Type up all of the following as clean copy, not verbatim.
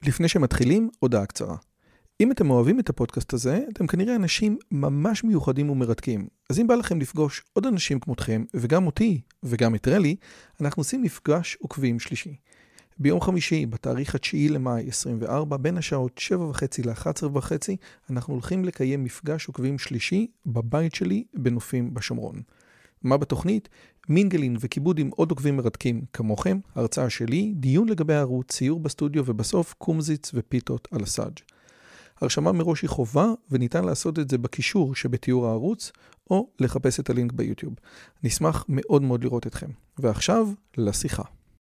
לפני שמתחילים, הודעה קצרה. אם אתם אוהבים את הפודקאסט הזה, אתם כנראה אנשים ממש מיוחדים ומרתקים. אז אם בא לכם לפגוש עוד אנשים כמותכם, וגם אותי, וגם את רלי, אנחנו עושים מפגש עוקבים שלישי. ביום חמישי, בתאריך 9 למאי 24, בין השעות 7:30 ל-11:30, אנחנו הולכים לקיים מפגש עוקבים שלישי בבית שלי בנופים בשומרון. מה בתוכנית? מינגלין וכיבוד עם עוד עוקבים מרתקים כמוכם, הרצאה שלי, דיון לגבי הערוץ, ציור בסטודיו ובסוף קומזיץ ופיתות על הסאג'. הרשמה מראש היא חובה וניתן לעשות את זה בקישור שבתיאור הערוץ או לחפש את הלינק ביוטיוב. נשמח מאוד מאוד לראות אתכם. ועכשיו לשיחה.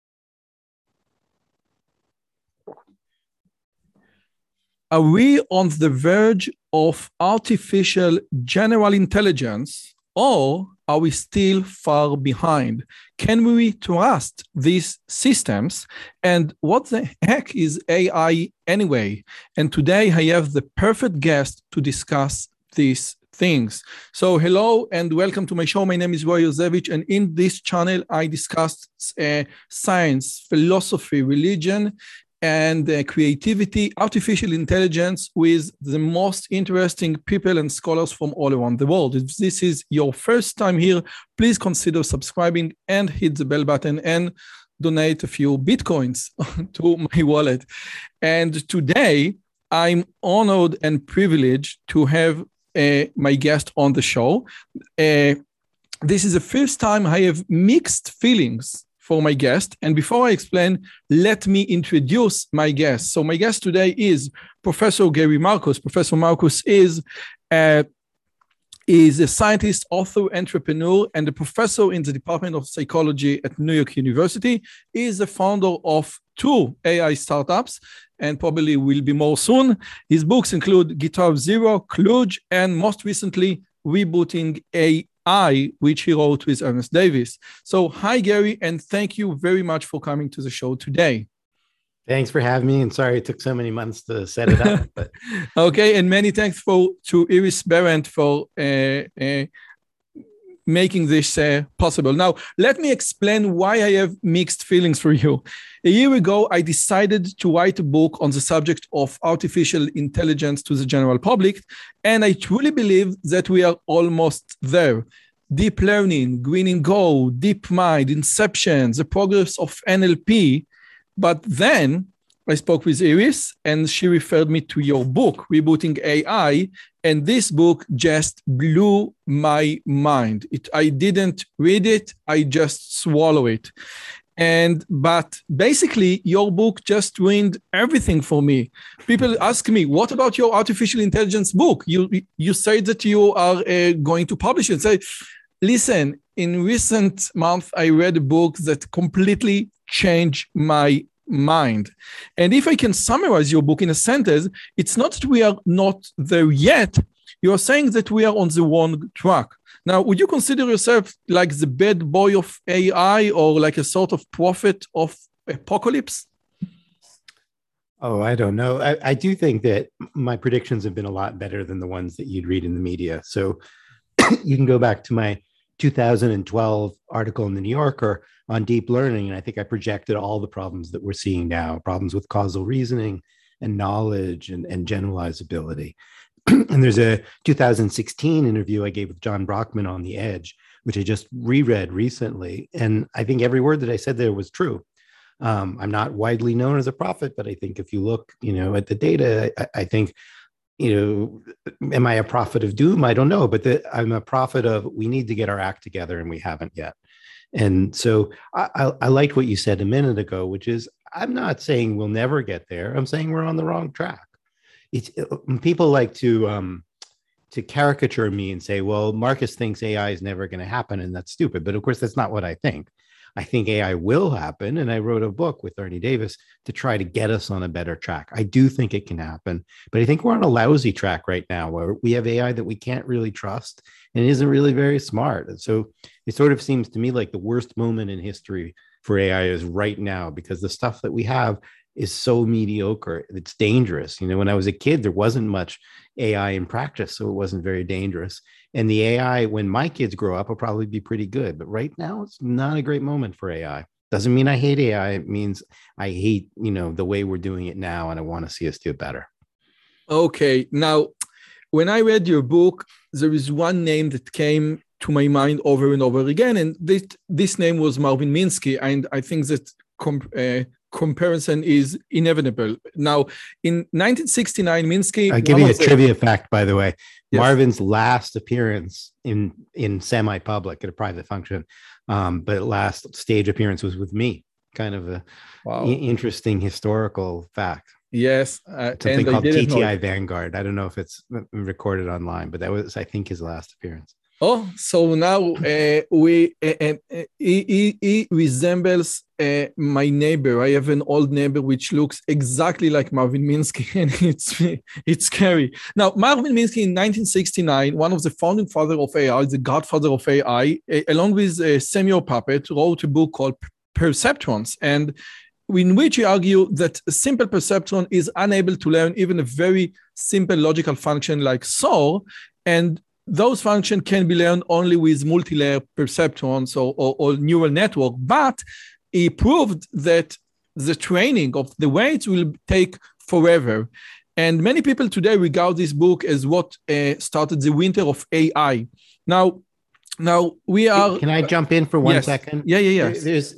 Are we on the verge of artificial general intelligence or are we still far behind? Can we trust these systems? And what the heck is AI anyway? And today I have the perfect guest to discuss these things. So hello and welcome to my show. My name is Roy Yosevich, and in this channel I discuss science, philosophy, religion, and creativity, artificial intelligence with the most interesting people and scholars from all around the world. If this is your first time here, please consider subscribing and hit the bell button and donate a few Bitcoins to my wallet. And today, I'm honored and privileged to have my guest on the show. This is the first time I have mixed feelings for my guest. And before I explain, let me introduce my guest. So my guest today is Professor Gary Marcus. Professor Marcus is a scientist, author, entrepreneur, and a professor in the Department of Psychology at New York University. He is the founder of 2 AI startups, and probably will be more soon. His books include Guitar Zero, Kluge, and most recently, Rebooting AI, which he wrote with Ernest Davis. So hi, Gary, and thank you very much for coming to the show today. Thanks for having me, and sorry it took so many months to set it up. But okay, and many thanks to Iris Berendt for making this possible. Now, let me explain why I have mixed feelings for you. A year ago, I decided to write a book on the subject of artificial intelligence to the general public, and I truly believe that we are almost there. Deep learning, Green and Go, DeepMind, Inception, the progress of NLP. But then I spoke with Iris, and she referred me to your book, Rebooting AI, and this book just blew my mind. I didn't read it, I just swallowed it. But basically, your book just ruined everything for me. People ask me, what about your artificial intelligence book? You say that you are going to publish it. Say, listen, in recent months, I read a book that completely changed my mind. And if I can summarize your book in a sentence, it's not that we are not there yet. You are saying that we are on the wrong track. Now, would you consider yourself like the bad boy of AI or like a sort of prophet of apocalypse? Oh, I don't know. I do think that my predictions have been a lot better than the ones that you'd read in the media. So you can go back to my 2012 article in the New Yorker on deep learning, and I think I projected all the problems that we're seeing now, problems with causal reasoning and knowledge and generalizability. And there's a 2016 interview I gave with John Brockman on The Edge, which I just reread recently. And I think every word that I said there was true. I'm not widely known as a prophet, but I think if you look, at the data, I think, am I a prophet of doom? I don't know, but I'm a prophet of we need to get our act together, and we haven't yet. And so I liked what you said a minute ago, which is I'm not saying we'll never get there. I'm saying we're on the wrong track. People like to caricature me and say, well, Marcus thinks AI is never going to happen, and that's stupid. But of course, that's not what I think. I think AI will happen, and I wrote a book with Ernie Davis to try to get us on a better track. I do think it can happen, but I think we're on a lousy track right now where we have AI that we can't really trust and isn't really very smart. And so it sort of seems to me like the worst moment in history for AI is right now, because the stuff that we have is so mediocre. It's dangerous. When I was a kid, there wasn't much AI in practice, so it wasn't very dangerous. And the AI, when my kids grow up, will probably be pretty good. But right now, it's not a great moment for AI. Doesn't mean I hate AI. It means I hate, the way we're doing it now, and I want to see us do it better. Okay. Now, when I read your book, there is one name that came to my mind over and over again, and this name was Marvin Minsky, and I think that comparison is inevitable. Now, in 1969, Minsky... I'll give you a trivia fact, by the way. Yes. Marvin's last appearance in semi-public at a private function, but last stage appearance was with me. Kind of a interesting historical fact. Yes. Something called TTI Vanguard. I don't know if it's recorded online, but that was, I think, his last appearance. Oh, so now he resembles my neighbor. I have an old neighbor which looks exactly like Marvin Minsky, and it's scary. Now, Marvin Minsky in 1969, one of the founding fathers of AI, the godfather of AI, along with Samuel Papert, wrote a book called Perceptrons, and in which he argued that a simple perceptron is unable to learn even a very simple logical function like SOAR, and those functions can be learned only with multi-layer perceptrons or neural network, but he proved that the training of the weights will take forever. And many people today regard this book as what started the winter of AI. Now we are... Can I jump in for 1 second? Yeah. There's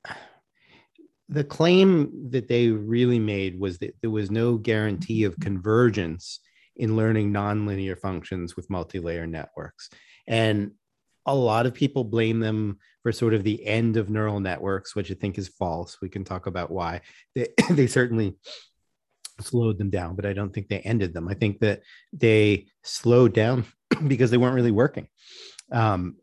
the claim that they really made was that there was no guarantee of convergence in learning nonlinear functions with multi-layer networks. And a lot of people blame them for sort of the end of neural networks, which I think is false. We can talk about why. They certainly slowed them down, but I don't think they ended them. I think that they slowed down because they weren't really working. And,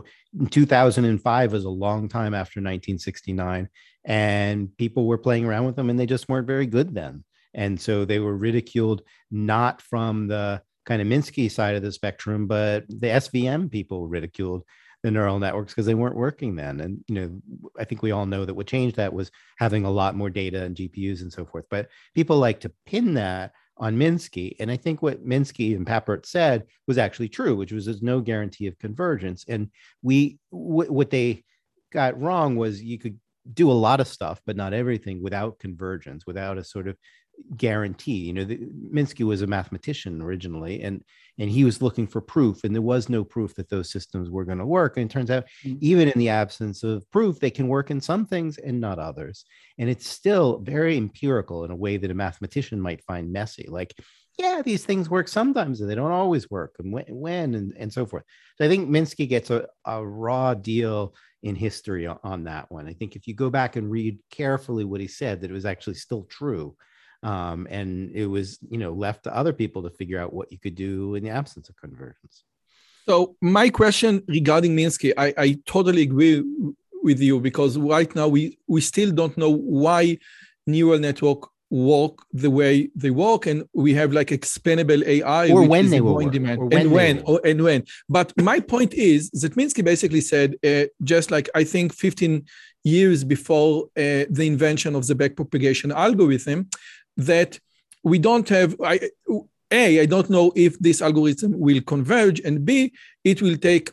2005 was a long time after 1969, and people were playing around with them, and they just weren't very good then. And so they were ridiculed, not from the kind of Minsky side of the spectrum, but the SVM people ridiculed the neural networks because they weren't working then. And, I think we all know that what changed that was having a lot more data and GPUs and so forth. But people like to pin that on Minsky. And I think what Minsky and Papert said was actually true, which was there's no guarantee of convergence. And what they got wrong was you could do a lot of stuff, but not everything without convergence, without a sort of guarantee. Minsky was a mathematician originally, and he was looking for proof, and there was no proof that those systems were going to work. And it turns out, even in the absence of proof, they can work in some things and not others. And it's still very empirical in a way that a mathematician might find messy. Like, yeah, these things work sometimes, and they don't always work, and when and so forth. So I think Minsky gets a raw deal in history on that one. I think if you go back and read carefully what he said, that it was actually still true. And it was, left to other people to figure out what you could do in the absence of convergence. So my question regarding Minsky, I totally agree with you, because right now we still don't know why neural network work the way they work, and we have like explainable AI, or when they will work, and when. But my point is that Minsky basically said, just like I think 15 years before the invention of the backpropagation algorithm, that we don't have, I don't know if this algorithm will converge, and B, it will take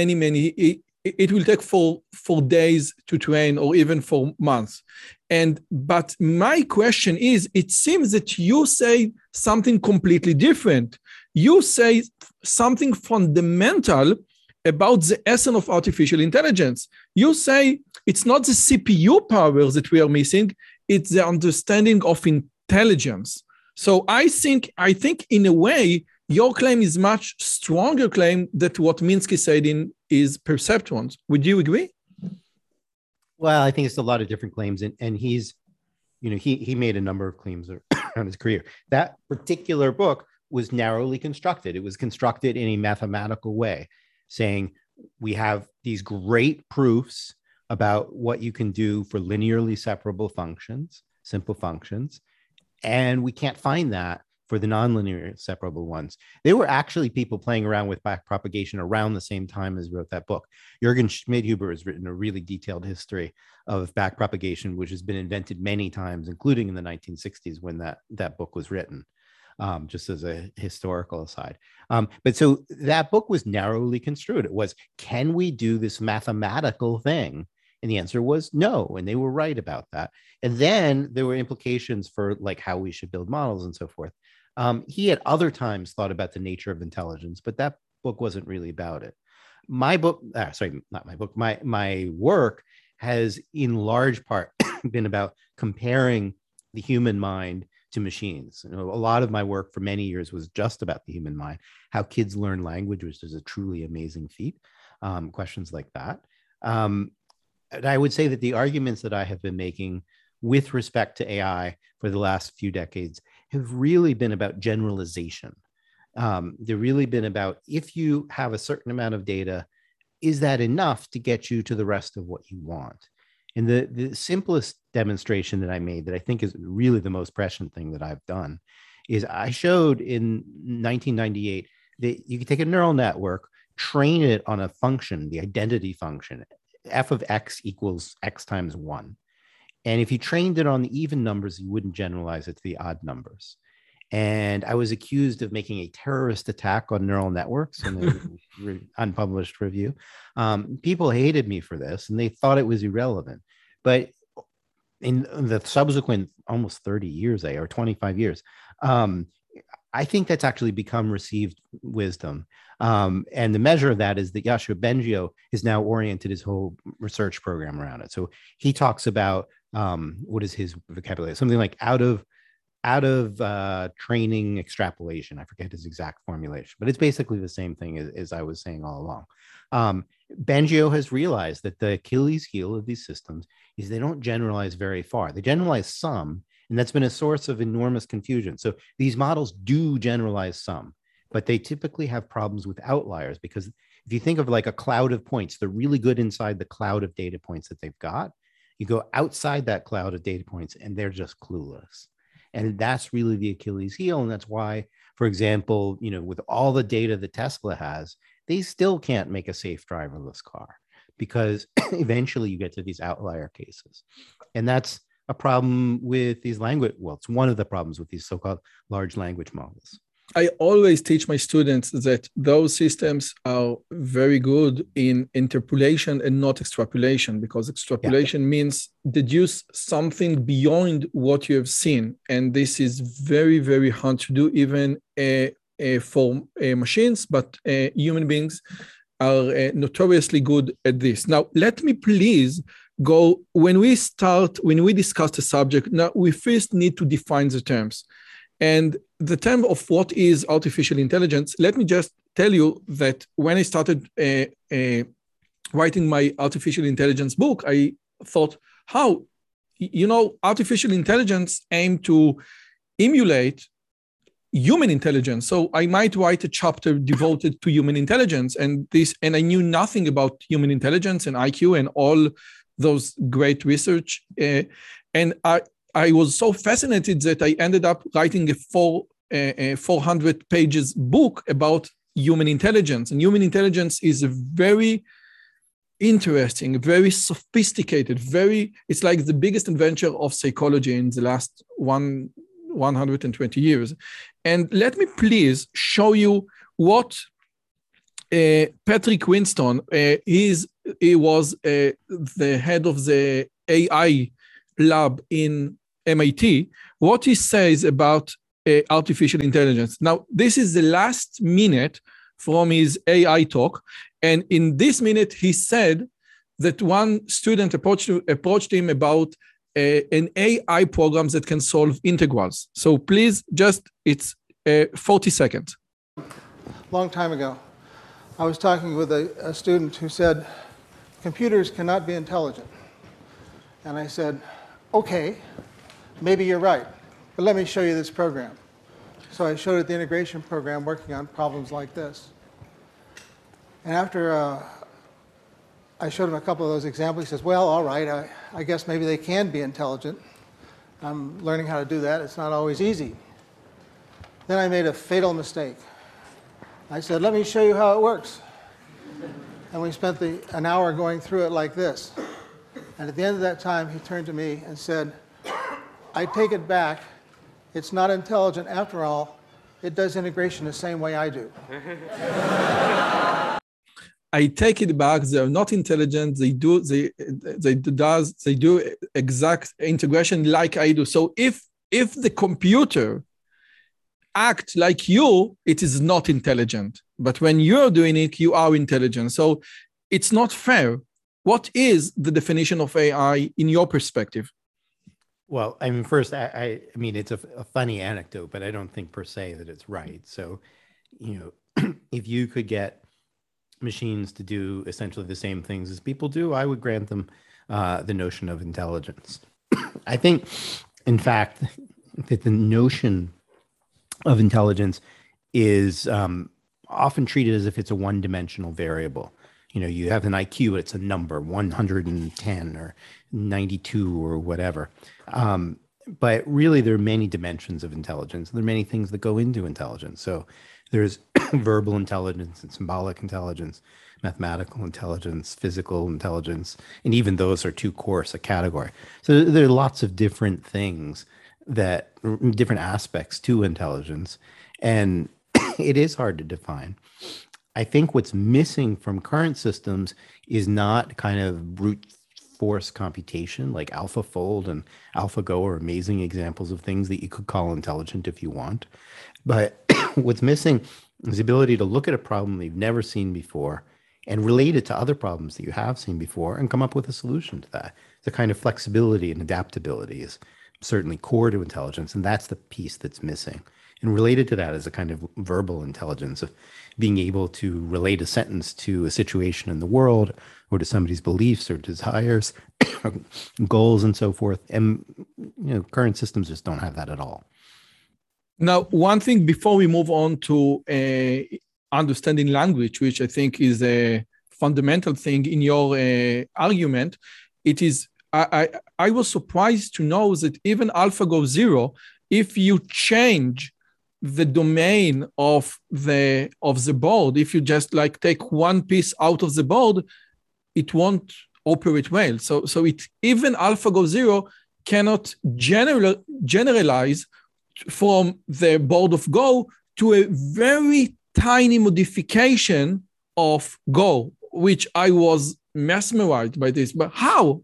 it will take for days to train, or even for months. But my question is, it seems that you say something completely different. You say something fundamental about the essence of artificial intelligence. You say it's not the CPU power that we are missing, it's the understanding of intelligence. So I think in a way, your claim is much stronger claim than what Minsky said in his Perceptrons. Would you agree? Well, I think it's a lot of different claims, and he's, he made a number of claims around his career. That particular book was narrowly constructed. It was constructed in a mathematical way, saying we have these great proofs about what you can do for linearly separable functions, simple functions, and we can't find that for the nonlinear separable ones. There were actually people playing around with backpropagation around the same time as wrote that book. Jürgen Schmidhuber has written a really detailed history of backpropagation, which has been invented many times, including in the 1960s when that book was written, just as a historical aside. But so that book was narrowly construed. It was, can we do this mathematical thing And the answer was no. And they were right about that. And then there were implications for like how we should build models and so forth. He at other times thought about the nature of intelligence, but that book wasn't really about it. My book, sorry, not my book, my work has in large part been about comparing the human mind to machines. You know, a lot of my work for many years was just about the human mind, how kids learn language, which is a truly amazing feat, questions like that. And I would say that the arguments that I have been making with respect to AI for the last few decades have really been about generalization. They've really been about, if you have a certain amount of data, is that enough to get you to the rest of what you want? And the simplest demonstration that I made that I think is really the most prescient thing that I've done is I showed in 1998 that you could take a neural network, train it on a function, the identity function, f of x equals x times 1. And if you trained it on the even numbers, you wouldn't generalize it to the odd numbers. And I was accused of making a terrorist attack on neural networks in an unpublished review. People hated me for this, and they thought it was irrelevant. But in the subsequent almost 30 years, or 25 years, I think that's actually become received wisdom. And the measure of that is that Yoshua Bengio has now oriented his whole research program around it. So he talks about, what is his vocabulary? Something like out of training extrapolation. I forget his exact formulation, but it's basically the same thing as I was saying all along. Bengio has realized that the Achilles heel of these systems is they don't generalize very far. They generalize some, and that's been a source of enormous confusion. So these models do generalize some, but they typically have problems with outliers, because if you think of like a cloud of points, they're really good inside the cloud of data points that they've got. You go outside that cloud of data points and they're just clueless. And that's really the Achilles heel. And that's why, for example, you know, with all the data that Tesla has, they still can't make a safe driverless car, because eventually you get to these outlier cases. And that's a problem with these language. Well, it's one of the problems with these so-called large language models. I always teach my students that those systems are very good in interpolation and not extrapolation, because extrapolation means deduce something beyond what you have seen. And this is very, very hard to do, even for machines, but human beings are notoriously good at this. Now, let me please go, when we discuss the subject, now we first need to define the terms. And the term of what is artificial intelligence, let me just tell you that when I started writing my artificial intelligence book, I thought, how, you know, artificial intelligence aimed to emulate human intelligence. So I might write a chapter devoted to human intelligence, and I knew nothing about human intelligence and IQ and all those great research. And I was so fascinated that I ended up writing a 400 pages book about human intelligence. And human intelligence is a very interesting, very sophisticated, it's like the biggest adventure of psychology in the last 120 years. And let me please show you what Patrick Winston, he was the head of the AI lab in MIT, what he says about artificial intelligence. Now, this is the last minute from his AI talk. And in this minute, he said that one student approached him about an AI program that can solve integrals. So please, it's 40 seconds. Long time ago, I was talking with a student who said, computers cannot be intelligent. And I said, okay, maybe you're right, but let me show you this program. So I showed it the integration program working on problems like this. And after I showed him a couple of those examples, he says, well, all right, I guess maybe they can be intelligent. I'm learning how to do that. It's not always easy. Then I made a fatal mistake. I said, let me show you how it works. And we spent an hour going through it like this. And at the end of that time, he turned to me and said, I take it back. It's not intelligent after all. It does integration the same way I do. I take it back. They are not intelligent. They do exact integration like I do. So if the computer act like you, it is not intelligent. But when you're doing it, you are intelligent. So it's not fair. What is the definition of AI in your perspective? Well, I mean, first, I mean, it's a funny anecdote, but I don't think per se that it's right. So, if you could get machines to do essentially the same things as people do, I would grant them the notion of intelligence. I think, in fact, that the notion of intelligence is often treated as if it's a one-dimensional variable. You have an IQ, it's a number, 110 or 92 or whatever. But really, there are many dimensions of intelligence. There are many things that go into intelligence. So there's verbal intelligence and symbolic intelligence, mathematical intelligence, physical intelligence, and even those are too coarse a category. So there are lots of different things different aspects to intelligence, and it is hard to define. I think what's missing from current systems is not kind of brute force computation like AlphaFold and AlphaGo are amazing examples of things that you could call intelligent if you want. But what's missing is the ability to look at a problem that you've never seen before and relate it to other problems that you have seen before and come up with a solution to that. The kind of flexibility and adaptability is certainly core to intelligence, and that's the piece that's missing. And related to that is a kind of verbal intelligence of being able to relate a sentence to a situation in the world or to somebody's beliefs or desires, goals, and so forth. And current systems just don't have that at all. Now, one thing before we move on to understanding language, which I think is a fundamental thing in your argument, it is I was surprised to know that even AlphaGo Zero, if you change the domain of the board, if you just like take one piece out of the board, it won't operate well. So even AlphaGo Zero cannot generalize from the board of Go to a very tiny modification of Go, which I was mesmerized by this. But how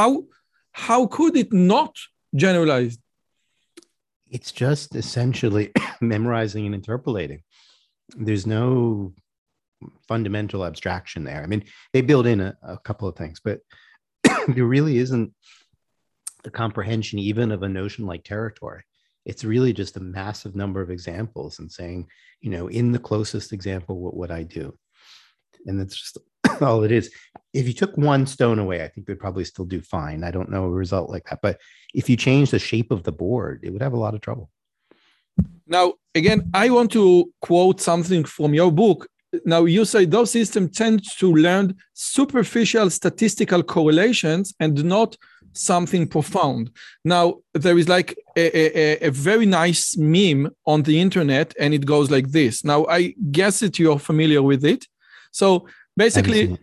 could it not generalize? It's just essentially memorizing and interpolating. There's no fundamental abstraction there. I mean, they build in a couple of things, but there really isn't a comprehension even of a notion like territory. It's really just a massive number of examples and saying, in the closest example, what would I do? And that's just all it is. If you took one stone away, I think they'd probably still do fine. I don't know a result like that. But if you change the shape of the board, it would have a lot of trouble. Now, again, I want to quote something from your book. Now, you say those systems tend to learn superficial statistical correlations and not something profound. Now, there is like a very nice meme on the internet, and it goes like this. Now, I guess that you're familiar with it. So basically,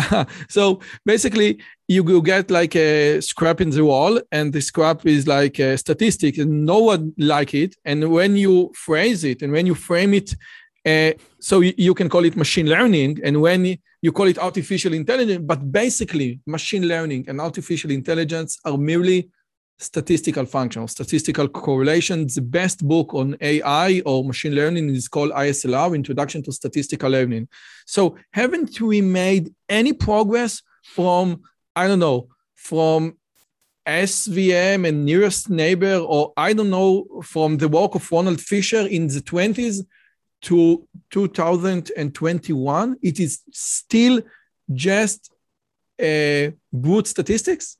you get like a scrap in the wall, and the scrap is like a statistic, and no one like it. And when you phrase it and when you frame it, so you can call it machine learning, and when you call it artificial intelligence, but basically machine learning and artificial intelligence are merely statistical functions, statistical correlations. The best book on AI or machine learning is called ISLR, Introduction to Statistical Learning. So haven't we made any progress from, I don't know, from SVM and Nearest Neighbor, or I don't know, from the work of Ronald Fisher in the 20s to 2021? It is still just brute statistics?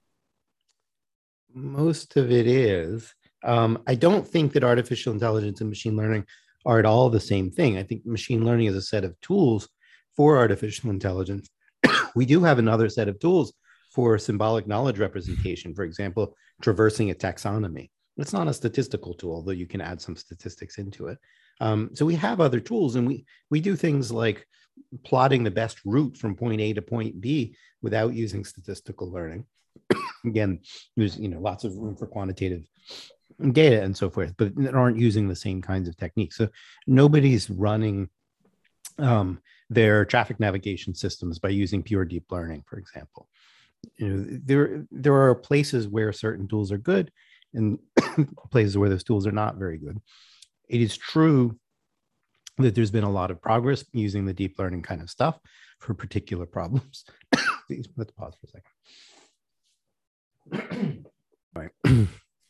Most of it is. I don't think that artificial intelligence and machine learning are at all the same thing. I think machine learning is a set of tools for artificial intelligence. We do have another set of tools for symbolic knowledge representation, for example, traversing a taxonomy. It's not a statistical tool, though you can add some statistics into it. So we have other tools, and we do things like plotting the best route from point A to point B without using statistical learning. Again, there's lots of room for quantitative data and so forth, but that aren't using the same kinds of techniques. So nobody's running their traffic navigation systems by using pure deep learning, for example. There are places where certain tools are good and places where those tools are not very good. It is true that there's been a lot of progress using the deep learning kind of stuff for particular problems. Let's pause for a second. All right.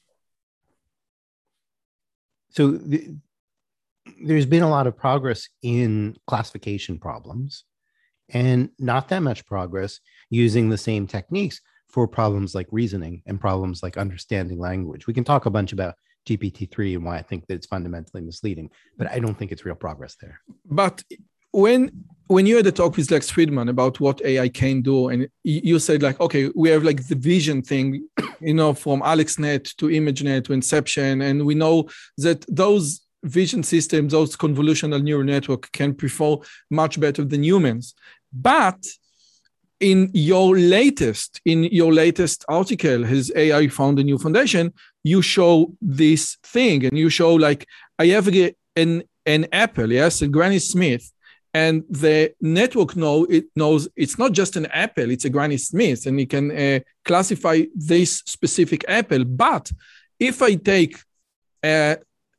So there's been a lot of progress in classification problems and not that much progress using the same techniques for problems like reasoning and problems like understanding language. We can talk a bunch about GPT-3 and why I think that it's fundamentally misleading, but I don't think it's real progress there. But when you had a talk with Lex Fridman about what AI can do, and you said like, okay, we have like the vision thing, from AlexNet to ImageNet to Inception, and we know that those vision systems, those convolutional neural network can perform much better than humans. But in your latest article, Has AI Found a New Foundation, you show this thing, and you show like, I have an apple, yes, a Granny Smith, and the network knows it's not just an apple, it's a Granny Smith, and it can classify this specific apple. But if I take a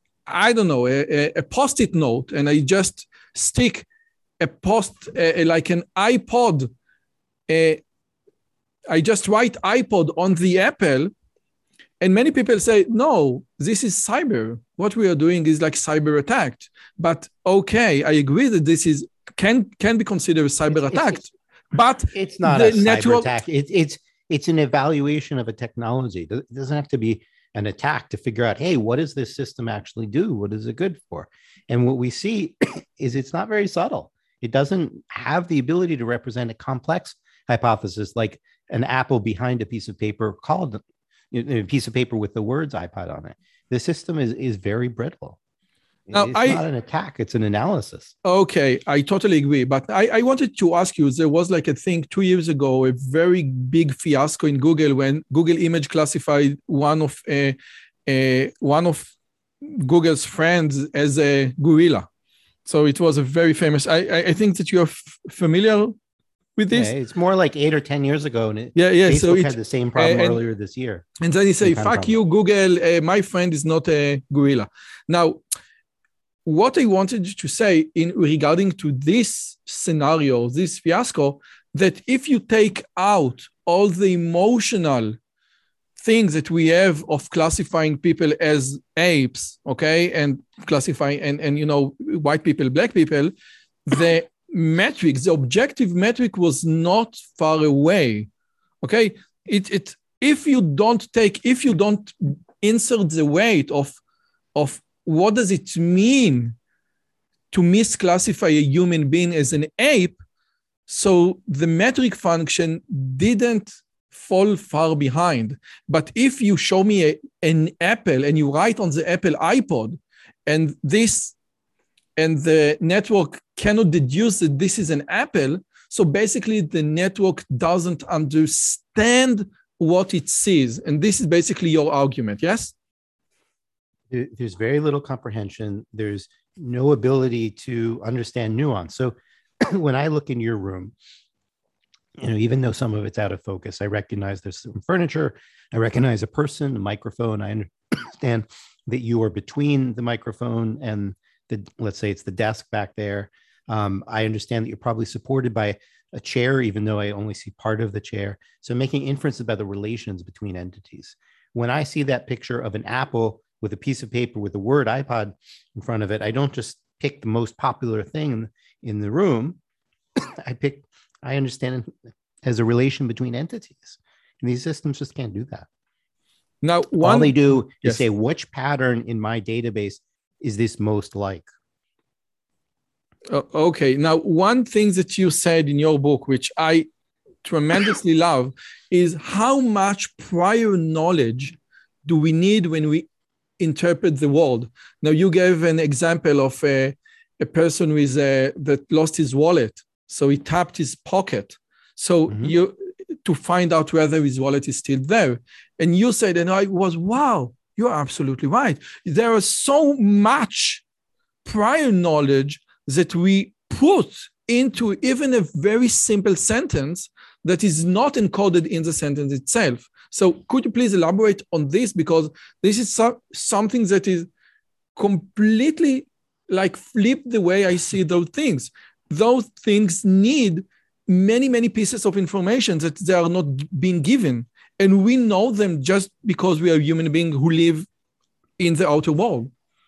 Post-it note, and I just stick like an iPod, I just write iPod on the apple, and many people say, no, this is cyber. What we are doing is like cyber attack. But okay, I agree that this can be considered a cyber attack. But it's not a cyber attack. It's an evaluation of a technology. It doesn't have to be an attack to figure out, hey, what does this system actually do? What is it good for? And what we see is it's not very subtle. It doesn't have the ability to represent a complex hypothesis like an apple behind a piece of paper called a piece of paper with the words iPod on it. The system is very brittle. Now, it's not an attack, it's an analysis. Okay, I totally agree. But I wanted to ask you, there was like, I think 2 years ago, a very big fiasco in Google when Google Image classified one of Google's friends as a gorilla. So it was a very famous, I think that you're familiar with this. Yeah, it's more like 8 or 10 years ago. And Facebook so had the same problem earlier this year. And then he say, fuck you, Google, my friend is not a gorilla. Now, what I wanted to say regarding to this scenario, this fiasco, that if you take out all the emotional things that we have of classifying people as apes, okay, and classifying and white people, black people, the metric, the objective metric was not far away, okay. If you don't insert the weight of what does it mean to misclassify a human being as an ape, so the metric function didn't fall far behind. But if you show me an apple and you write on the Apple iPod, and the network cannot deduce that this is an apple, so basically the network doesn't understand what it sees. And this is basically your argument, yes? There's very little comprehension. There's no ability to understand nuance. So when I look in your room, even though some of it's out of focus, I recognize there's some furniture. I recognize a person, a microphone. I understand that you are between the microphone and let's say it's the desk back there. I understand that you're probably supported by a chair, even though I only see part of the chair. So making inferences about the relations between entities. When I see that picture of an apple with a piece of paper with the word iPod in front of it, I don't just pick the most popular thing in the room. I understand it as a relation between entities. And these systems just can't do that. Now, all they do is say, which pattern in my database is this most like? Okay. Now, one thing that you said in your book, which I tremendously love, is how much prior knowledge do we need when we interpret the world? Now, you gave an example of a person with that lost his wallet. So he tapped his pocket. So to find out whether his wallet is still there. And you said, and I was, wow, you're absolutely right. There is so much prior knowledge that we put into even a very simple sentence that is not encoded in the sentence itself. So could you please elaborate on this? Because this is something that is completely like flip the way I see those things. Those things need many, many pieces of information that they are not being given. And we know them just because we are human beings who live in the outer world.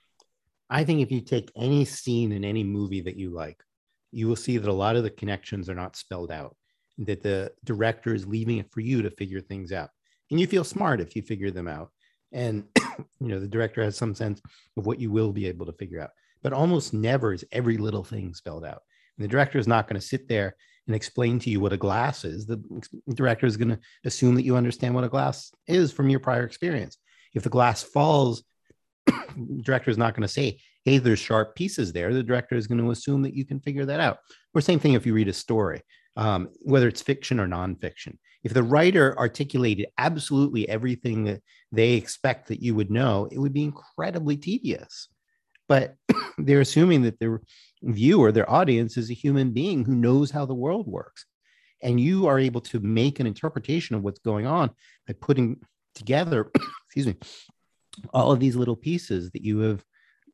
I think if you take any scene in any movie that you like, you will see that a lot of the connections are not spelled out, that the director is leaving it for you to figure things out. And you feel smart if you figure them out. And the director has some sense of what you will be able to figure out. But almost never is every little thing spelled out. And the director is not going to sit there and explain to you what a glass is. The director is going to assume that you understand what a glass is from your prior experience. If the glass falls, the director is not going to say, hey, there's sharp pieces there. The director is going to assume that you can figure that out. Or same thing if you read a story, whether it's fiction or nonfiction. If the writer articulated absolutely everything that they expect that you would know, it would be incredibly tedious. But they're assuming that their viewer, their audience, is a human being who knows how the world works. And you are able to make an interpretation of what's going on by putting together, excuse me, all of these little pieces that you have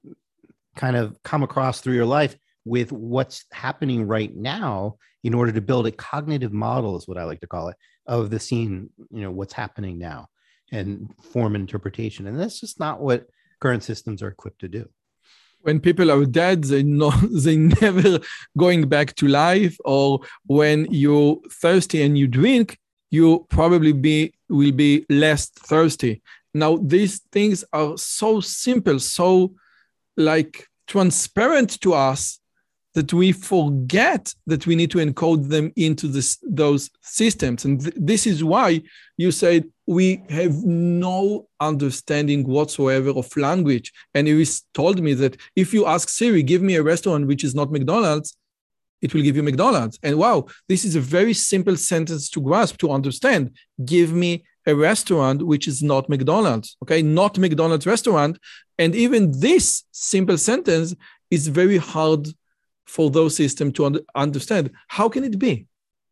kind of come across through your life with what's happening right now in order to build a cognitive model, is what I like to call it, of the scene, what's happening now, and form interpretation. And that's just not what current systems are equipped to do. When people are dead, they never going back to life. Or when you're thirsty and you drink, you probably will be less thirsty. Now, these things are so simple, so like transparent to us that we forget that we need to encode them into those systems. And this is why you said we have no understanding whatsoever of language. And it was told me that if you ask Siri, give me a restaurant which is not McDonald's, it will give you McDonald's. And wow, this is a very simple sentence to grasp, to understand. Give me a restaurant which is not McDonald's, okay? Not McDonald's restaurant. And even this simple sentence is very hard for those systems to understand. How can it be?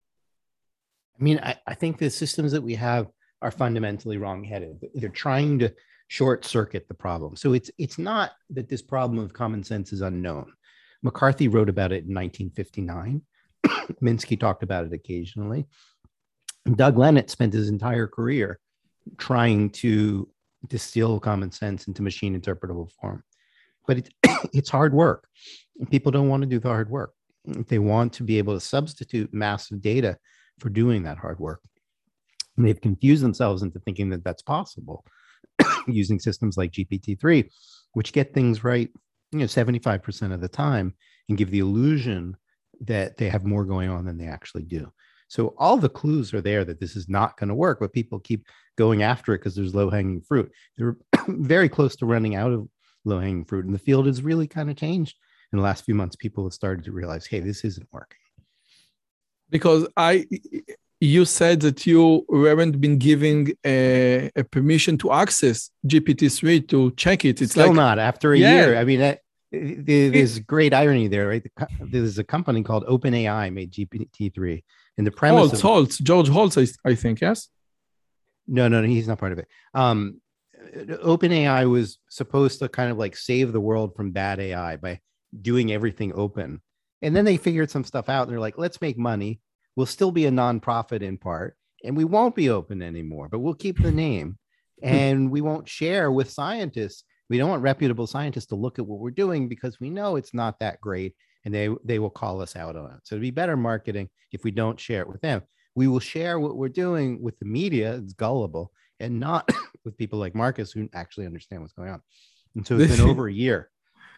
I mean, I think the systems that we have are fundamentally wrong-headed. They're trying to short circuit the problem. So it's not that this problem of common sense is unknown. McCarthy wrote about it in 1959. Minsky talked about it occasionally. Doug Lenat spent his entire career trying to distill common sense into machine interpretable form. But it's hard work. People don't want to do the hard work. They want to be able to substitute massive data for doing that hard work. And they've confused themselves into thinking that that's possible using systems like GPT-3, which get things right 75% of the time and give the illusion that they have more going on than they actually do. So all the clues are there that this is not going to work, but people keep going after it because there's low-hanging fruit. They're very close to running out of low-hanging fruit, and the field has really kind of changed in the last few months. People have started to realize, hey, this isn't working. Because you said that you haven't been giving a permission to access GPT-3 to check it. It's still like, not after a year. I mean, there's great irony there, right? There's a company called OpenAI made GPT-3, and the premise George Holtz, I think, yes. No, he's not part of it. OpenAI was supposed to kind of like save the world from bad AI by doing everything open. And then they figured some stuff out and they're like, let's make money. We'll still be a nonprofit in part, and we won't be open anymore, but we'll keep the name and we won't share with scientists. We don't want reputable scientists to look at what we're doing because we know it's not that great and they will call us out on it. So it'd be better marketing if we don't share it with them. We will share what we're doing with the media. It's gullible, and not with people like Marcus who actually understand what's going on. And so it's been over a year.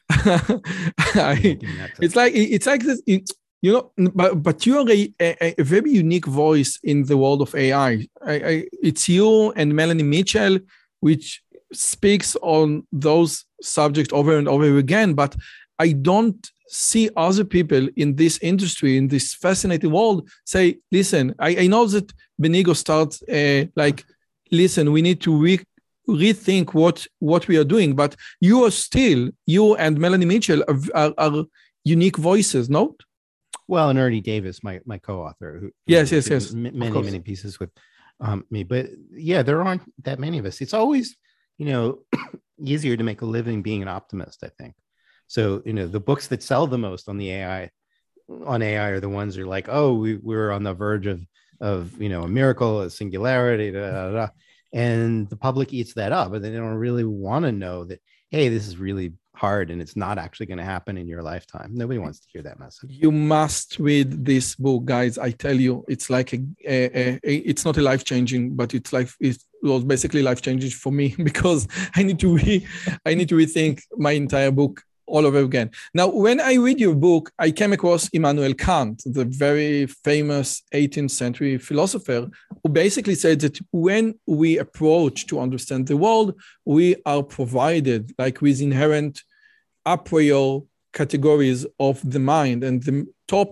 It's like this, but you're a very unique voice in the world of AI. It's you and Melanie Mitchell, which speaks on those subjects over and over again, but I don't see other people in this industry, in this fascinating world, say, listen, I know that Benigo starts listen, we need to rethink what we are doing, but you and Melanie Mitchell are unique voices, no? Well, and Ernie Davis, my co-author, who Yes, wrote yes, yes. many pieces with me. But yeah, there aren't that many of us. It's always, easier to make a living being an optimist, I think. So, the books that sell the most on AI are the ones that are like, oh, we're on the verge of a miracle, a singularity, and the public eats that up, but they don't really want to know that, hey, this is really hard and it's not actually going to happen in your lifetime. Nobody wants to hear that message. You must read this book, guys. I tell you, it's like it's not a life-changing, but it was basically life-changing for me because I need to rethink my entire book all over again. Now, when I read your book, I came across Immanuel Kant, the very famous 18th century philosopher, who basically said that when we approach to understand the world, we are provided like with inherent a priori categories of the mind, and the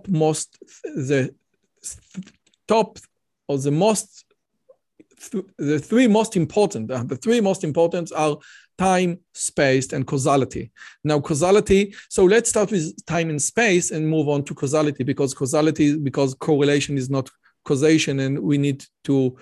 three most important are time, space, and causality. Now, causality, so let's start with time and space and move on to causality, because correlation is not causation, and we need to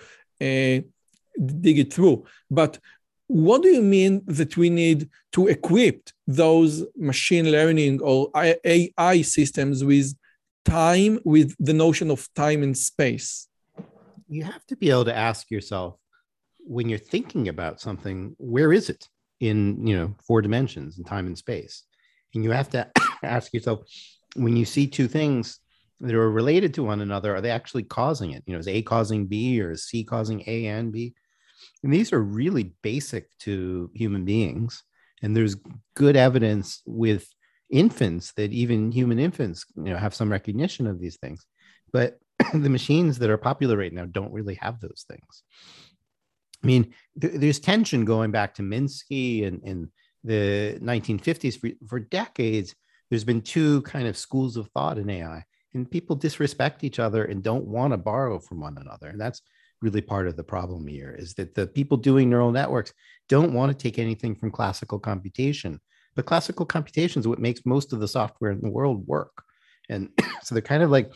dig it through. But what do you mean that we need to equip those machine learning or AI systems with time, with the notion of time and space? You have to be able to ask yourself, when you're thinking about something, where is it in 4 dimensions in time and space? And you have to ask yourself, when you see two things that are related to one another, are they actually causing it? Is A causing B, or is C causing A and B? And these are really basic to human beings. And there's good evidence with infants that even human infants, have some recognition of these things. But the machines that are popular right now don't really have those things. I mean, there's tension going back to Minsky and the 1950s. For decades, there's been two kind of schools of thought in AI, and people disrespect each other and don't want to borrow from one another. And that's really part of the problem here, is that the people doing neural networks don't want to take anything from classical computation, but classical computation is what makes most of the software in the world work. And so they're kind of like,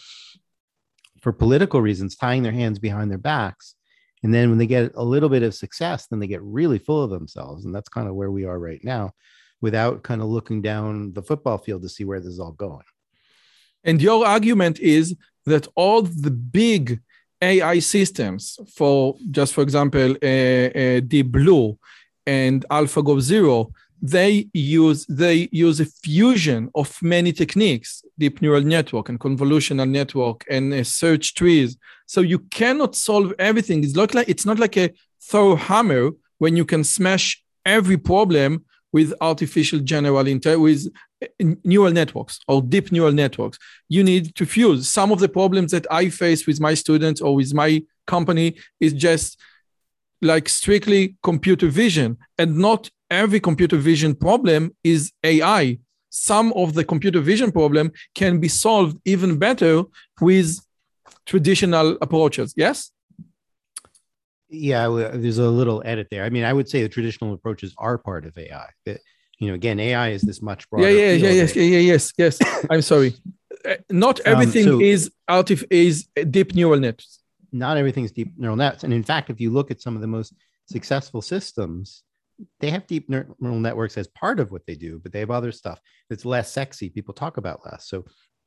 for political reasons, tying their hands behind their backs. And then when they get a little bit of success, then they get really full of themselves. And that's kind of where we are right now, without kind of looking down the football field to see where this is all going. And your argument is that all the big AI systems, for example, Deep Blue and AlphaGo Zero, they use a fusion of many techniques, deep neural network and convolutional network and search trees. So you cannot solve everything. It's not like a Thor hammer when you can smash every problem with artificial general intelligence, with neural networks or deep neural networks. You need to fuse. Some of the problems that I face with my students or with my company is just like strictly computer vision, and not every computer vision problem is AI. Some of the computer vision problem can be solved even better with traditional approaches. Yes? Yeah, there's a little edit there. I mean, I would say the traditional approaches are part of AI. That, again, AI is this much broader. Yes. I'm sorry. Not everything is deep neural nets. Not everything's deep neural nets. And in fact, if you look at some of the most successful systems, they have deep neural networks as part of what they do, but they have other stuff that's less sexy, people talk about less. So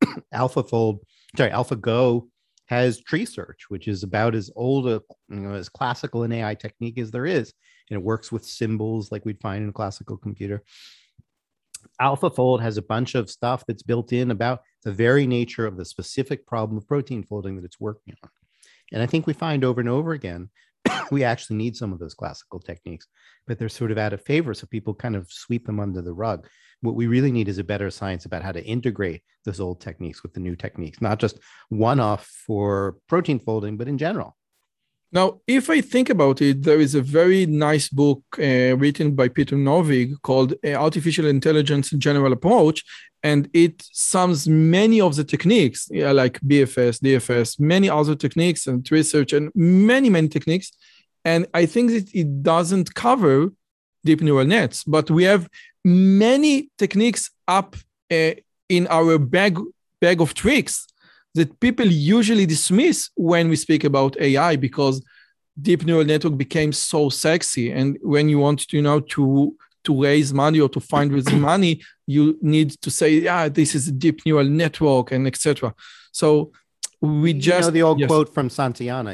AlphaGo has tree search, which is about as old as classical an AI technique as there is. And it works with symbols like we'd find in a classical computer. AlphaFold has a bunch of stuff that's built in about the very nature of the specific problem of protein folding that it's working on. And I think we find over and over again, we actually need some of those classical techniques, but they're sort of out of favor. So people kind of sweep them under the rug. What we really need is a better science about how to integrate those old techniques with the new techniques, not just one-off for protein folding, but in general. Now, if I think about it, there is a very nice book written by Peter Norvig called Artificial Intelligence General Approach, and it sums many of the techniques, like BFS, DFS, many other techniques and research and many, many techniques. And I think that it doesn't cover deep neural nets, but we have many techniques up in our bag of tricks that people usually dismiss when we speak about AI, because deep neural network became so sexy. And when you want to, to raise money or to fundraise money, you need to say, yeah, this is a deep neural network and etc. So we just the old quote from Santayana: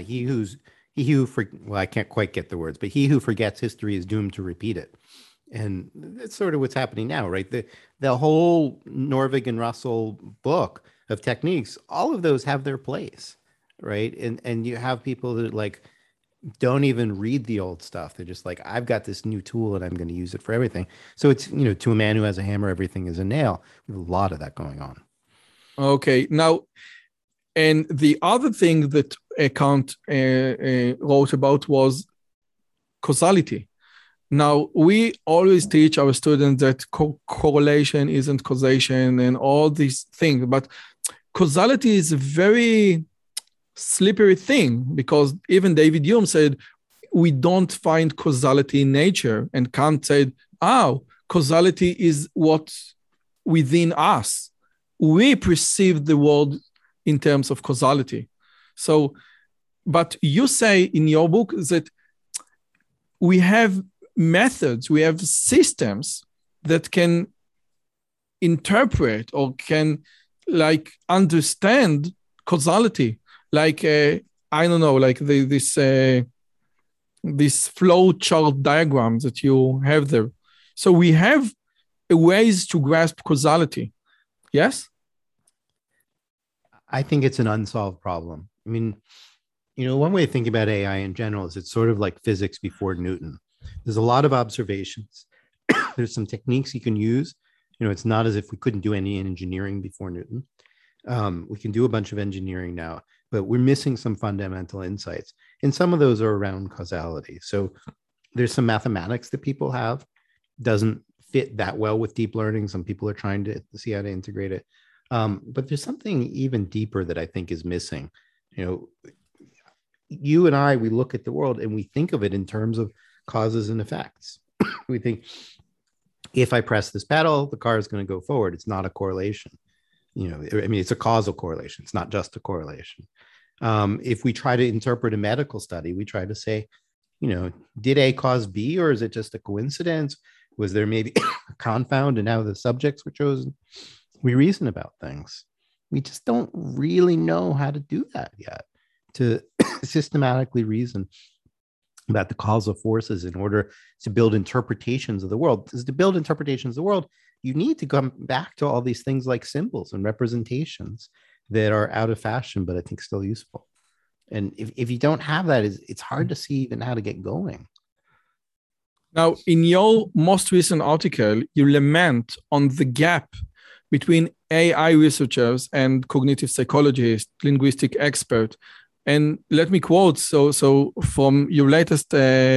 I can't quite get the words, but he who forgets history is doomed to repeat it. And that's sort of what's happening now, right? The whole Norvig and Russell book of techniques, all of those have their place, right? And you have people that like don't even read the old stuff. They're just like, I've got this new tool and I'm going to use it for everything. So it's, to a man who has a hammer, everything is a nail. We have a lot of that going on. Okay. Now, and the other thing that Kant wrote about was causality. Now, we always teach our students that correlation isn't causation and all these things, but causality is a very slippery thing, because even David Hume said, we don't find causality in nature. And Kant said, causality is what's within us. We perceive the world in terms of causality. So, but you say in your book that we have methods, we have systems that can interpret or can understand causality. I don't know, this flow chart diagrams that you have there. So we have ways to grasp causality. Yes? I think it's an unsolved problem. I mean, one way to think about AI in general is it's sort of like physics before Newton. There's a lot of observations. There's some techniques you can use. It's not as if we couldn't do any engineering before Newton. We can do a bunch of engineering now, but we're missing some fundamental insights. And some of those are around causality. So there's some mathematics that people have. Doesn't fit that well with deep learning. Some people are trying to see how to integrate it. But there's something even deeper that I think is missing. You and I, we look at the world and we think of it in terms of causes and effects. We think, if I press this pedal, the car is going to go forward. It's not a correlation. It's a causal correlation. It's not just a correlation. If we try to interpret a medical study, we try to say, did A cause B, or is it just a coincidence? Was there maybe a confound in how the subjects were chosen? We reason about things. We just don't really know how to do that yet, to systematically reason about the causal forces in order to build interpretations of the world. Because to build interpretations of the world, you need to come back to all these things like symbols and representations that are out of fashion, but I think still useful. And if you don't have that, it's hard to see even how to get going. Now, in your most recent article, you lament on the gap between AI researchers and cognitive psychologists, linguistic experts. And let me quote, so from your latest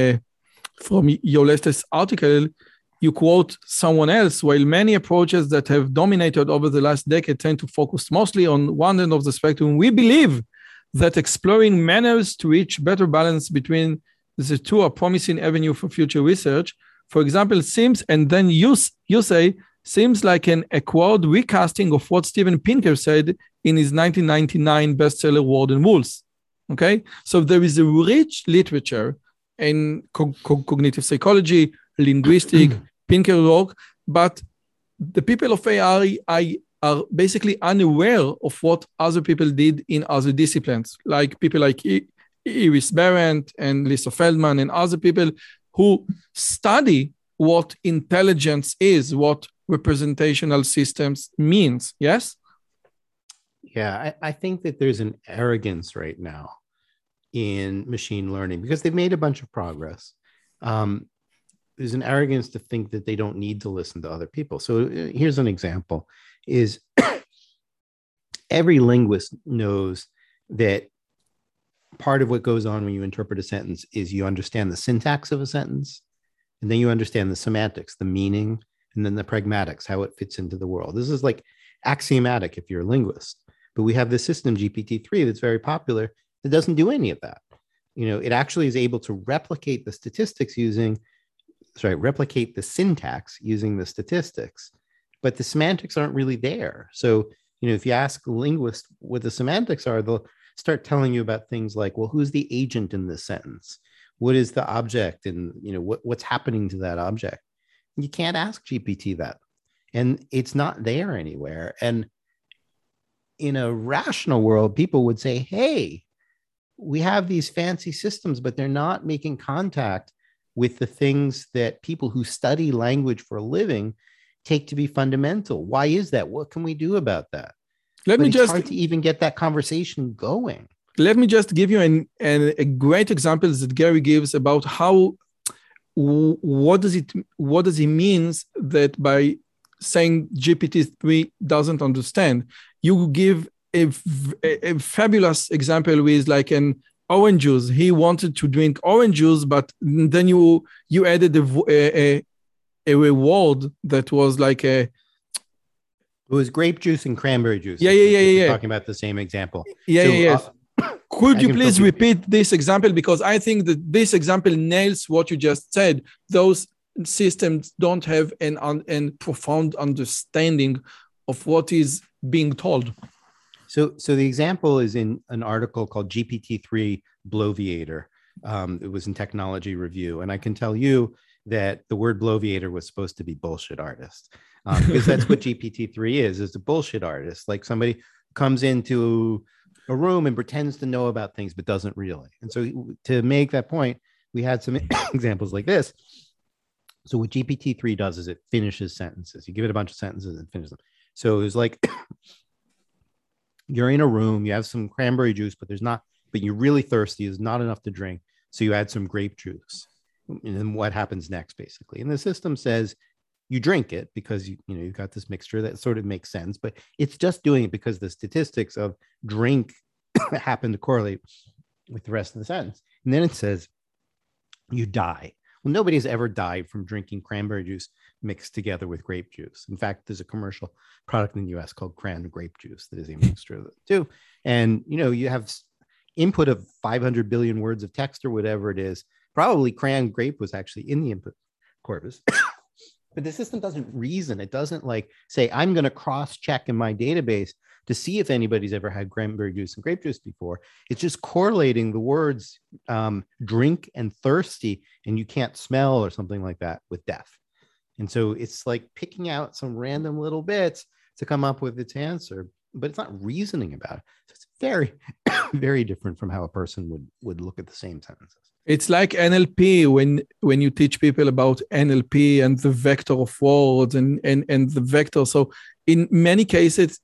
article, you quote someone else: while many approaches that have dominated over the last decade tend to focus mostly on one end of the spectrum, we believe that exploring manners to reach better balance between the two are promising avenue for future research. For example, seems, and then you say, seems like an acquired recasting of what Steven Pinker said in his 1999 bestseller, Words and Rules. Okay, so there is a rich literature in cognitive psychology, linguistic, Pinker work, but the people of AI are basically unaware of what other people did in other disciplines, like people like Iris Berend and Lisa Feldman and other people who study what intelligence is, what representational systems means. Yes? Yeah, I think that there's an arrogance right now in machine learning because they've made a bunch of progress. There's an arrogance to think that they don't need to listen to other people. So here's an example, is every linguist knows that part of what goes on when you interpret a sentence is you understand the syntax of a sentence, and then you understand the semantics, the meaning, and then the pragmatics, how it fits into the world. This is like axiomatic if you're a linguist. But we have this system, GPT-3, that's very popular, that doesn't do any of that. It actually is able to replicate the syntax using the statistics, but the semantics aren't really there. So if you ask a linguist what the semantics are, they'll start telling you about things like, well, who's the agent in this sentence? What is the object? And, what's happening to that object? You can't ask GPT that. And it's not there anywhere. And in a rational world, people would say, hey, we have these fancy systems, but they're not making contact with the things that people who study language for a living take to be fundamental. Why is that? What can we do about that? It's hard to even get that conversation going. Let me just give you a great example that Gary gives about how, what does he means that by saying GPT-3 doesn't understand. You give a fabulous example with like an orange juice. He wanted to drink orange juice, but then you added a word that was like it was grape juice and cranberry juice. Yeah. Talking about the same example. Yes. Could you please repeat this example? Because I think that this example nails what you just said. Those systems don't have an profound understanding of what is being told. So the example is in an article called GPT-3 Bloviator. It was in Technology Review. And I can tell you that the word bloviator was supposed to be bullshit artist. Because that's what GPT-3 is a bullshit artist. Like somebody comes into a room and pretends to know about things, but doesn't really. And so to make that point, we had some examples like this. So what GPT-3 does is it finishes sentences. You give it a bunch of sentences and finishes them. So it was like, you're in a room, you have some cranberry juice, but you're really thirsty. There's not enough to drink. So you add some grape juice. And then what happens next, basically? And the system says you drink it because you've got this mixture that sort of makes sense, but it's just doing it because the statistics of drink happen to correlate with the rest of the sentence. And then it says you die. Well, nobody's ever died from drinking cranberry juice mixed together with grape juice. In fact, there's a commercial product in the US called Cran Grape Juice that is a mixture of the two. And, you have input of 500 billion words of text or whatever it is. Probably cran grape was actually in the input corpus. But the system doesn't reason. It doesn't like say, I'm going to cross-check in my database to see if anybody's ever had cranberry juice and grape juice before. It's just correlating the words drink and thirsty, and you can't smell or something like that with death. And so it's like picking out some random little bits to come up with its answer, but it's not reasoning about it. So it's very, very different from how a person would look at the same sentences. It's like NLP when you teach people about NLP and the vector of words and the vector. So in many cases,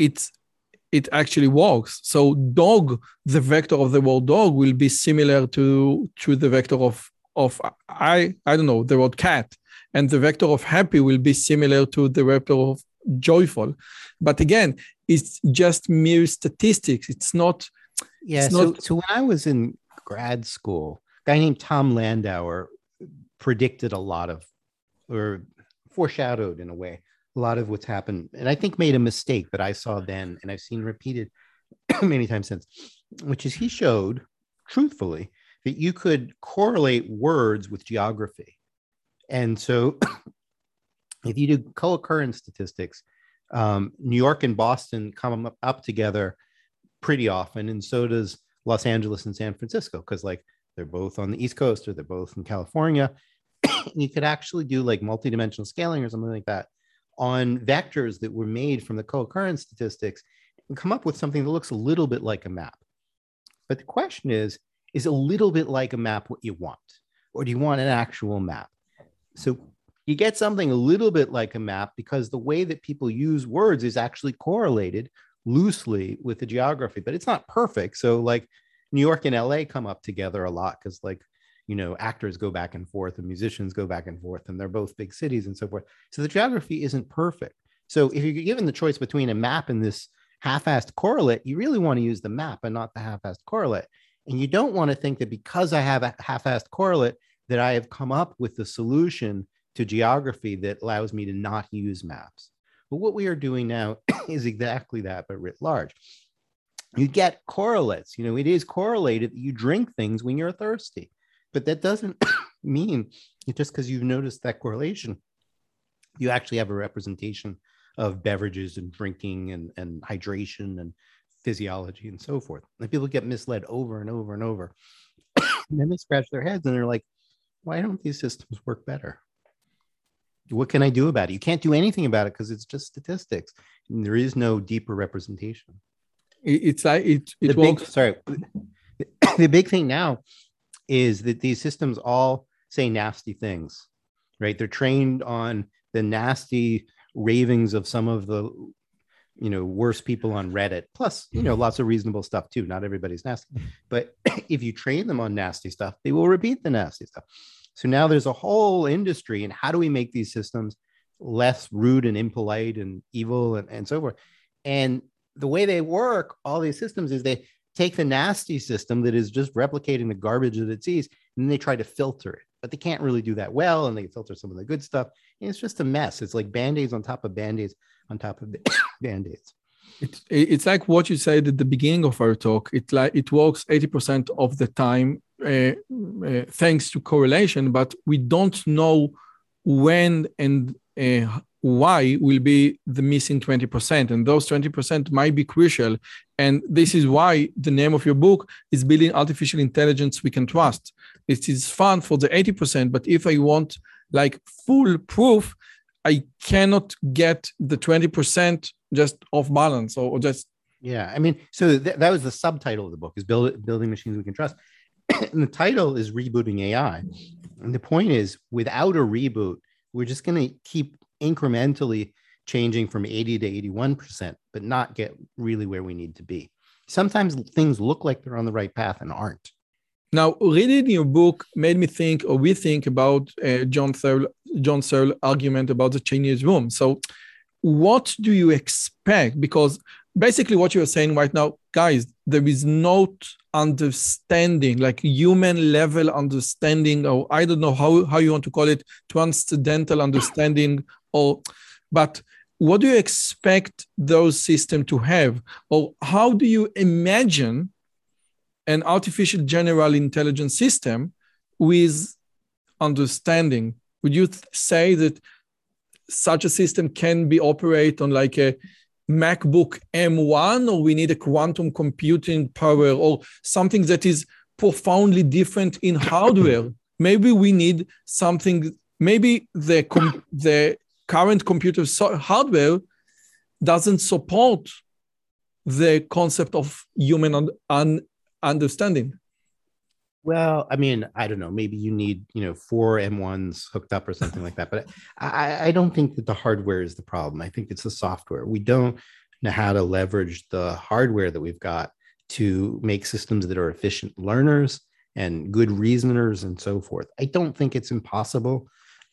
it actually works. So dog, the vector of the word dog will be similar to the vector of I don't know, the word cat. And the vector of happy will be similar to the vector of joyful. But again, it's just mere statistics. It's not. Yeah. So when I was in grad school, a guy named Tom Landauer predicted a lot of, or foreshadowed in a way, a lot of what's happened. And I think made a mistake that I saw then, and I've seen repeated many times since, which is he showed truthfully that you could correlate words with geography. And so if you do co-occurrence statistics, New York and Boston come up together pretty often. And so does Los Angeles and San Francisco, because like they're both on the East Coast or they're both in California. And you could actually do like multidimensional scaling or something like that on vectors that were made from the co-occurrence statistics and come up with something that looks a little bit like a map. But the question is a little bit like a map what you want? Or do you want an actual map? So you get something a little bit like a map because the way that people use words is actually correlated loosely with the geography, but it's not perfect. So like New York and LA come up together a lot because like, actors go back and forth and musicians go back and forth and they're both big cities and so forth. So the geography isn't perfect. So if you're given the choice between a map and this half-assed correlate, you really want to use the map and not the half-assed correlate. And you don't want to think that because I have a half-assed correlate that I have come up with the solution to geography that allows me to not use maps. But what we are doing now is exactly that, but writ large. You get correlates. It is correlated that you drink things when you're thirsty. But that doesn't mean just because you've noticed that correlation, you actually have a representation of beverages and drinking and hydration and physiology and so forth. And people get misled over and over and over. And then they scratch their heads and they're like, why don't these systems work better? What can I do about it? You can't do anything about it because it's just statistics. And there is no deeper representation. It's like it works. The big thing now is that these systems all say nasty things, right? They're trained on the nasty ravings of some of the, worst people on Reddit, plus, lots of reasonable stuff too. Not everybody's nasty, but if you train them on nasty stuff, they will repeat the nasty stuff. So now there's a whole industry in how do we make these systems less rude and impolite and evil and so forth. And the way they work, all these systems, is they take the nasty system that is just replicating the garbage that it sees, and then they try to filter it. But they can't really do that well, and they filter some of the good stuff. And it's just a mess. It's like Band-Aids on top of Band-Aids on top of Band-Aids. It's like what you said at the beginning of our talk. It works 80% of the time thanks to correlation, but we don't know when and why will be the missing 20%. And those 20% might be crucial. And this is why the name of your book is Building Artificial Intelligence We Can Trust. It is fun for the 80%, but if I want like full proof, I cannot get the 20% just off balance or just. Yeah, I mean, so that was the subtitle of the book, is Building Machines We Can Trust. And the title is Rebooting AI. And the point is, without a reboot, we're just going to keep incrementally changing from 80 to 81%, but not get really where we need to be. Sometimes things look like they're on the right path and aren't. Now, reading your book made me think, or we think about John Searle argument about the Chinese room. So what do you expect? Because basically what you're saying right now, guys, there is no understanding, like human level understanding, or I don't know how you want to call it, transcendental understanding, but what do you expect those systems to have? Or how do you imagine an artificial general intelligence system with understanding? Would you say that such a system can be operated on like a MacBook M1, or we need a quantum computing power or something that is profoundly different in hardware? Maybe we need something, maybe the current computer hardware doesn't support the concept of human understanding. Well, I mean, I don't know. Maybe you need, 4 M1s hooked up or something like that. But I don't think that the hardware is the problem. I think it's the software. We don't know how to leverage the hardware that we've got to make systems that are efficient learners and good reasoners and so forth. I don't think it's impossible.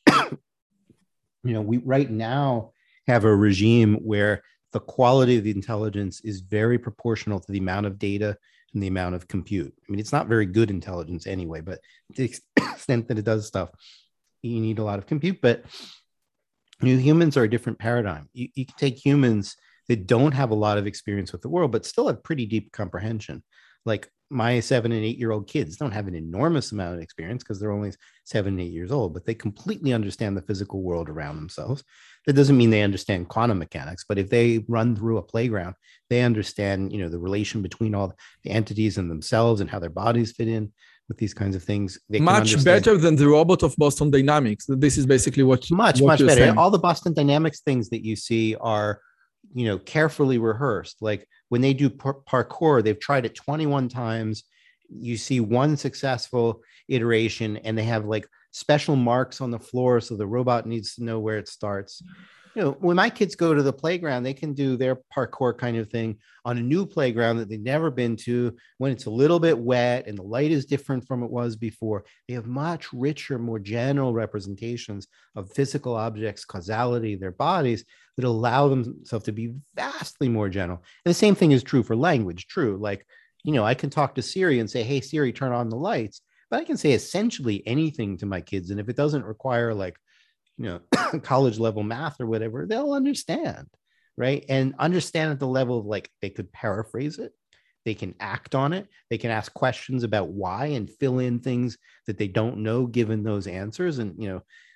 We right now have a regime where the quality of the intelligence is very proportional to the amount of data and the amount of compute. I mean, it's not very good intelligence anyway, but to the extent that it does stuff, you need a lot of compute. But humans are a different paradigm. You can take humans that don't have a lot of experience with the world, but still have pretty deep comprehension. Like my 7 and 8 year old kids don't have an enormous amount of experience because they're only 7 and 8 years old, but they completely understand the physical world around themselves. That doesn't mean they understand quantum mechanics, but if they run through a playground, they understand, the relation between all the entities and themselves and how their bodies fit in with these kinds of things. They much better than the robot of Boston Dynamics. This is basically what much better. Saying. All the Boston Dynamics things that you see are, carefully rehearsed. Like when they do parkour, they've tried it 21 times. You see one successful iteration, and they have like special marks on the floor, so the robot needs to know where it starts. When my kids go to the playground, they can do their parkour kind of thing on a new playground that they've never been to, when it's a little bit wet and the light is different from it was before. They have much richer, more general representations of physical objects, causality, their bodies, that allow themselves to be vastly more general. And the same thing is true for language. True, like, I can talk to Siri and say, hey, Siri, turn on the lights. But I can say essentially anything to my kids. And if it doesn't require like, college level math or whatever, they'll understand, right? And understand at the level of like, they could paraphrase it. They can act on it. They can ask questions about why and fill in things that they don't know given those answers. And,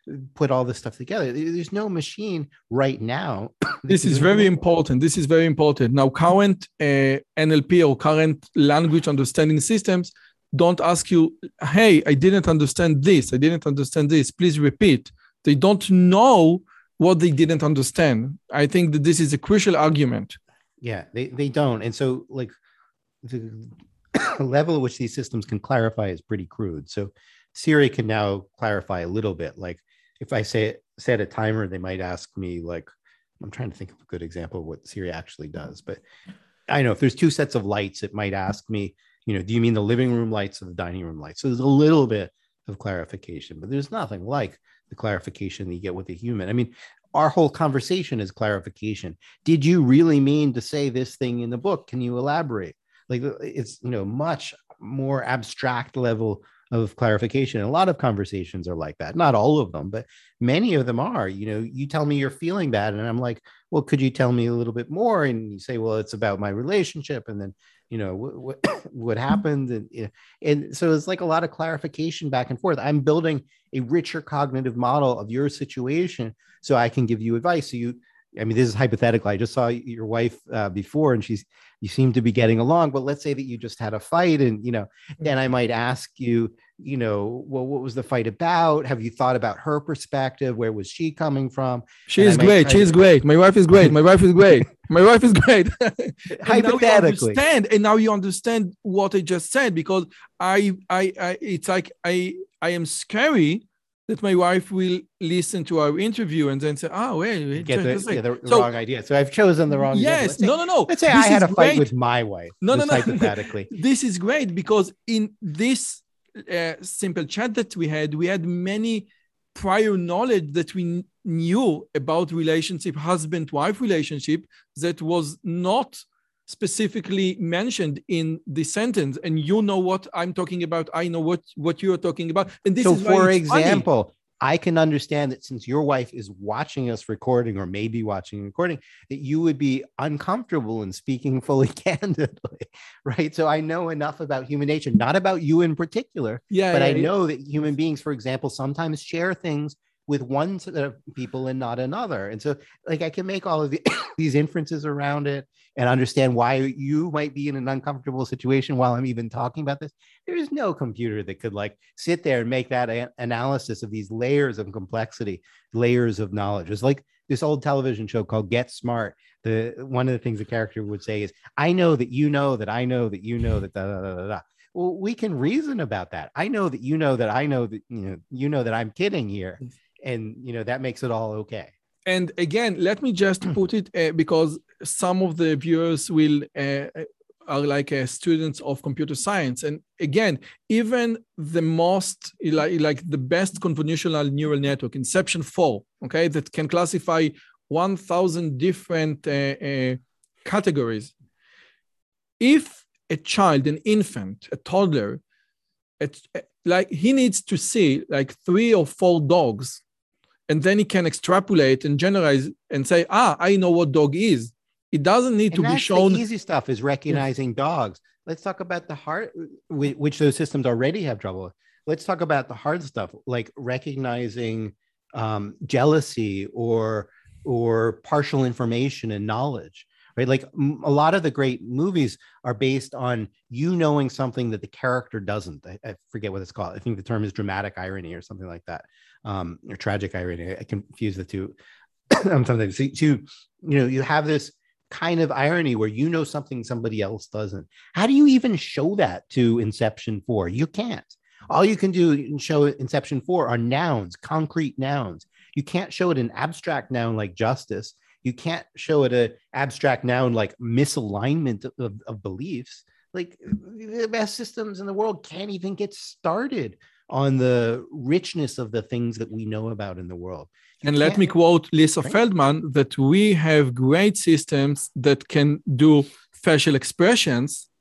put all this stuff together. There's no machine right now. This is very important. This is very important. Now, current NLP or current language understanding systems don't ask you, hey, I didn't understand this. I didn't understand this. Please repeat. They don't know what they didn't understand. I think that this is a crucial argument. Yeah, they don't. And so like the level at which these systems can clarify is pretty crude. So Siri can now clarify a little bit. Like if I set a timer, they might ask me, like, I'm trying to think of a good example of what Siri actually does, but I know if there's two sets of lights, it might ask me, do you mean the living room lights or the dining room lights? So there's a little bit of clarification, but there's nothing like the clarification that you get with a human. I mean, our whole conversation is clarification. Did you really mean to say this thing in the book? Can you elaborate? Like it's, much more abstract level of clarification. And a lot of conversations are like that. Not all of them, but many of them are. You tell me you're feeling bad, and I'm like, well, could you tell me a little bit more? And you say, well, it's about my relationship, and then what happened, and so it's like a lot of clarification back and forth. I'm building a richer cognitive model of your situation so I can give you advice. So this is hypothetical. I just saw your wife before, and you seem to be getting along, but let's say that you just had a fight, and then I might ask you, well, what was the fight about? Have you thought about her perspective? Where was she coming from? She is great. She is great. My wife is great. My wife is great. My wife is great. Hypothetically. And now you understand what I just said, because it's like I am scary that my wife will listen to our interview and then say, oh, wait. Get the wrong idea. So I've chosen the wrong Yes. No. Let's say this I had a fight with my wife. No. Hypothetically. This is great, because in this simple chat that we had many prior knowledge that we knew about relationship, husband-wife relationship, that was not specifically mentioned in the sentence. And what I'm talking about. I know what you're talking about. And this is for example, funny. I can understand that since your wife is watching us recording, or maybe watching and recording, that you would be uncomfortable in speaking fully candidly, right? So I know enough about human nature, not about you in particular, but I know that human beings, for example, sometimes share things with one set of people and not another. And so like I can make all of these inferences around it and understand why you might be in an uncomfortable situation while I'm even talking about this. There is no computer that could like sit there and make that analysis of these layers of complexity, layers of knowledge. It's like this old television show called Get Smart. One of the things the character would say is, I know that you know that I know that you know that da, da, da, da, da. Well, we can reason about that. I know that you know that I know that you know that I'm kidding here. And, that makes it all okay. And again, let me just put it because some of the viewers are like students of computer science. And again, even the most, like the best convolutional neural network, Inception 4, okay, that can classify 1,000 different categories. If a child, an infant, a toddler, like he needs to see like 3 or 4 dogs, and then he can extrapolate and generalize and say, I know what dog is. It doesn't need to be shown. The easy stuff is recognizing dogs. Let's talk about the hard, which those systems already have trouble with. Let's talk about the hard stuff, like recognizing jealousy or partial information and knowledge. Right? Like a lot of the great movies are based on you knowing something that the character doesn't. I forget what it's called. I think the term is dramatic irony or something like that, or tragic irony. I confuse the two sometimes. So, you have this kind of irony where you know something somebody else doesn't. How do you even show that to Inception 4? You can't. All you can do and show Inception 4 are nouns, concrete nouns. You can't show it an abstract noun like justice. You can't show it an abstract noun like misalignment of beliefs. Like the best systems in the world can't even get started on the richness of the things that we know about in the world. And let me quote Lisa Feldman, that we have great systems that can do facial expressions,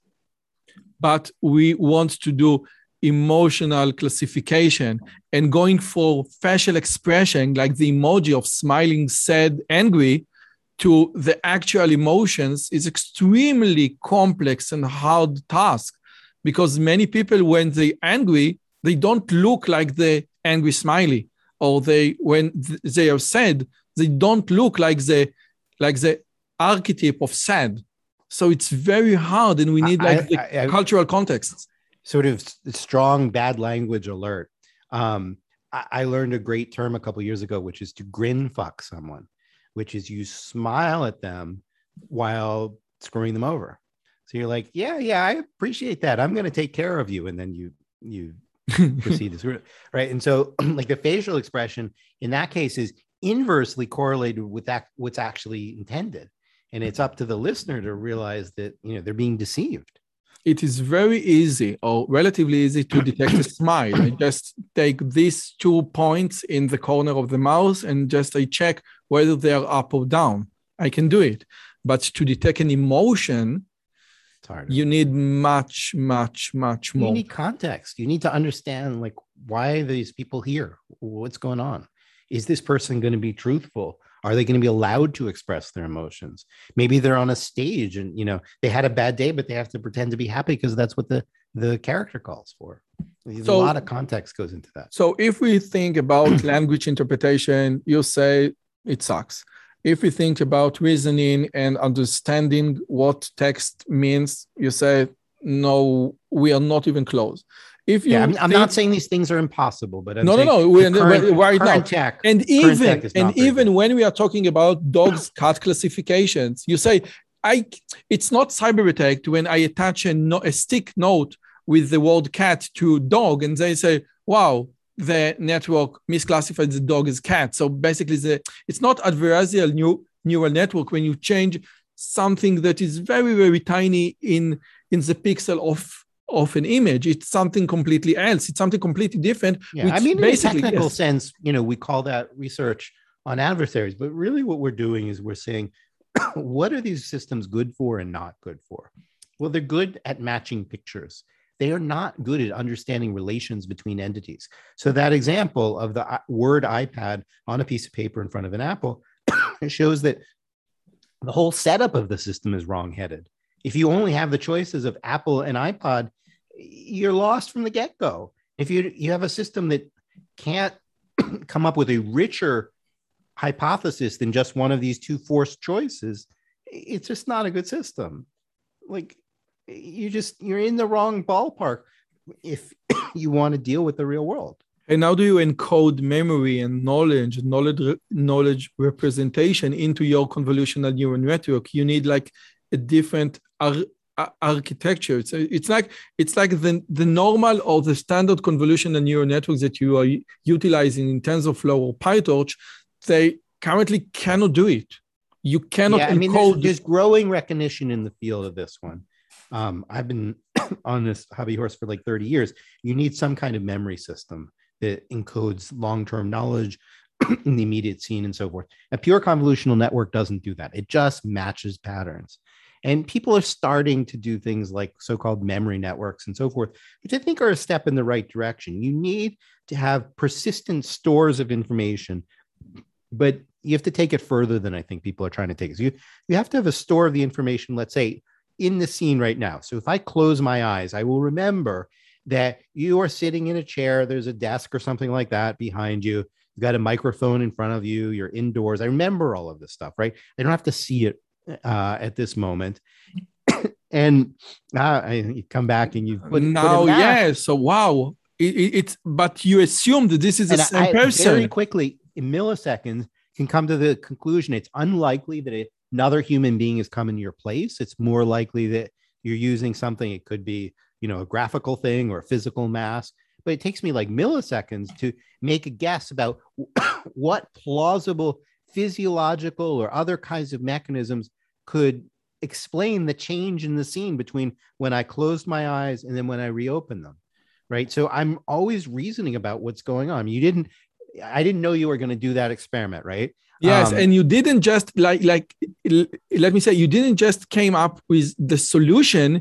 but we want to do emotional classification, and going for facial expression like the emoji of smiling, sad, angry to the actual emotions is extremely complex and hard task, because many people, when they're angry, they don't look like the angry smiley. or they are sad, they don't look like the archetype of sad. So it's very hard, and we need cultural contexts. Sort of strong bad language alert. I learned a great term a couple of years ago, which is to grin fuck someone, which is you smile at them while screwing them over. So you're like, yeah, I appreciate that. I'm going to take care of you. And then you proceed to screw it, right? And so like the facial expression in that case is inversely correlated with that, what's actually intended. And it's up to the listener to realize that, they're being deceived. It is very easy or relatively easy to detect a smile. I just take these 2 points in the corner of the mouth and I check whether they are up or down. I can do it. But to detect an emotion, you need much, much, much more. You need context. You need to understand, like, why are these people here? What's going on? Is this person going to be truthful? Are they going to be allowed to express their emotions? Maybe they're on a stage and, they had a bad day, but they have to pretend to be happy because that's what the character calls for. A lot of context goes into that. So if we think about language interpretation, you say it sucks. If we think about reasoning and understanding what text means, you say, no, we are not even close. I'm not saying these things are impossible, but I'm right now. Even when we are talking about dogs cat classifications, you say, it's not cyber attack when I attach a stick note with the word cat to dog, and they say, wow, the network misclassified the dog as cat. So basically, it's not adversarial neural network when you change something that is very, very tiny in the pixel of an image. It's something completely else. It's something completely different. Yeah, I mean, in a technical sense, we call that research on adversaries, but really what we're doing is we're saying, what are these systems good for and not good for? Well, they're good at matching pictures. They are not good at understanding relations between entities. So that example of the word iPad on a piece of paper in front of an apple shows that the whole setup of the system is wrong-headed. If you only have the choices of Apple and iPod, you're lost from the get-go. If you have a system that can't come up with a richer hypothesis than just one of these two forced choices, it's just not a good system. Like, you're in the wrong ballpark if you want to deal with the real world. And how do you encode memory and knowledge representation into your convolutional neural network? You need like a different architecture. It's like the normal or the standard convolutional neural networks that you are utilizing in TensorFlow or PyTorch. They currently cannot do it. You cannot encode. There's growing recognition in the field of this one. I've been on this hobby horse for like 30 years. You need some kind of memory system that encodes long-term knowledge in the immediate scene and so forth. A pure convolutional network doesn't do that. It just matches patterns. And people are starting to do things like so-called memory networks and so forth, which I think are a step in the right direction. You need to have persistent stores of information, but you have to take it further than I think people are trying to take it. So you have to have a store of the information, let's say, in the scene right now. So if I close my eyes, I will remember that you are sitting in a chair, there's a desk or something like that behind you, you've got a microphone in front of you, you're indoors. I remember all of this stuff, right? I don't have to see it at this moment. And you come back and you put so wow, it's but you assume that this is the same person. Very quickly, in milliseconds, can come to the conclusion it's unlikely that another human being has come in your place. It's more likely that you're using something. It could be, a graphical thing or a physical mask, but it takes me like milliseconds to make a guess about what plausible physiological or other kinds of mechanisms could explain the change in the scene between when I closed my eyes and then when I reopened them, right? So I'm always reasoning about what's going on. I didn't know you were going to do that experiment, right? Yes, and you didn't just let me say, you didn't just came up with the solution.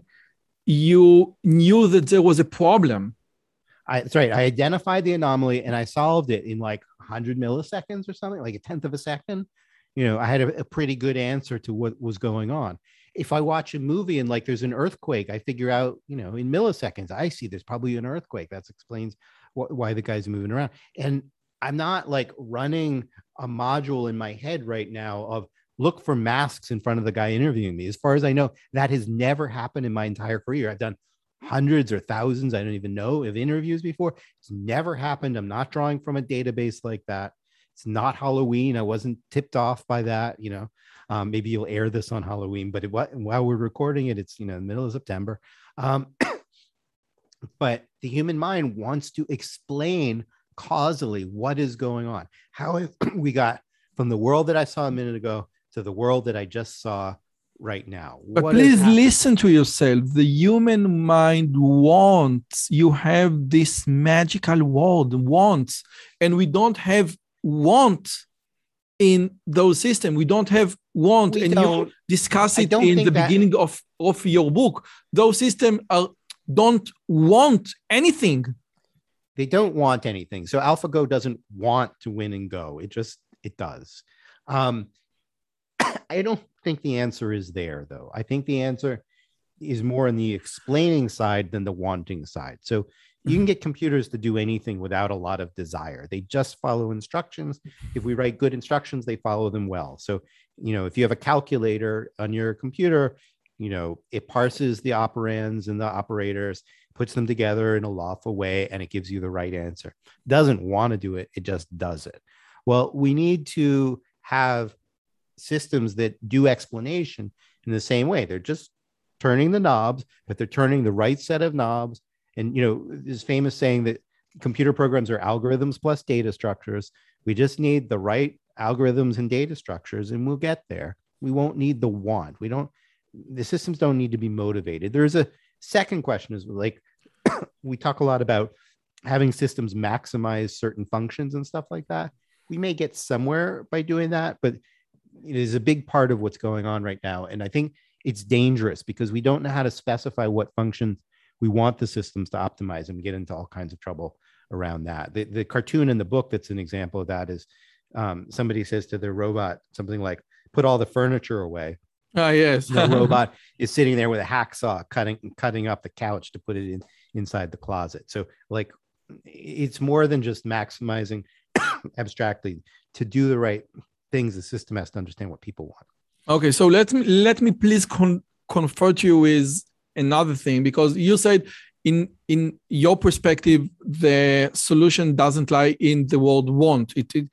You knew that there was a problem. That's right. I identified the anomaly and I solved it in like 100 milliseconds or something, like a tenth of a second. I had a pretty good answer to what was going on. If I watch a movie and like there's an earthquake, I figure out, in milliseconds, I see there's probably an earthquake. That explains why the guy's moving around. And I'm not like running a module in my head right now of look for masks in front of the guy interviewing me. As far as I know, that has never happened in my entire career. I've done hundreds or thousands, I don't even know, of interviews before. It's never happened. I'm not drawing from a database like that. It's not Halloween. I wasn't tipped off by that. Maybe you'll air this on Halloween, but while we're recording it, it's, the middle of September. But the human mind wants to explain causally what is going on. How have we got from the world that I saw a minute ago to the world that I just saw right now? But please listen to yourself. The human mind wants, you have this magical word, wants, and we don't have want in those systems. We don't have want, and you discuss it in the beginning of your book. Those systems don't want anything. They don't want anything. So AlphaGo doesn't want to win and go. It does. I don't think the answer is there, though. I think the answer is more on the explaining side than the wanting side. So you can get computers to do anything without a lot of desire. They just follow instructions. If we write good instructions, they follow them well. So, if you have a calculator on your computer, it parses the operands and the operators, puts them together in a lawful way, and it gives you the right answer. Doesn't want to do it. It just does it. Well, we need to have systems that do explanation in the same way. They're just turning the knobs, but they're turning the right set of knobs. And, this famous saying that computer programs are algorithms plus data structures. We just need the right algorithms and data structures, and we'll get there. We won't need the want. The systems don't need to be motivated. There's a second question is like, we talk a lot about having systems maximize certain functions and stuff like that. We may get somewhere by doing that, but it is a big part of what's going on right now. And I think it's dangerous because we don't know how to specify what functions we want the systems to optimize, and we get into all kinds of trouble around that. The cartoon in the book that's an example of that is somebody says to their robot something like, put all the furniture away. Yes. The robot is sitting there with a hacksaw cutting up the couch to put it inside the closet. So like, it's more than just maximizing abstractly. To do the right things, the system has to understand what people want. Okay, so let me please confront you with another thing, because you said in your perspective the solution doesn't lie in the word want.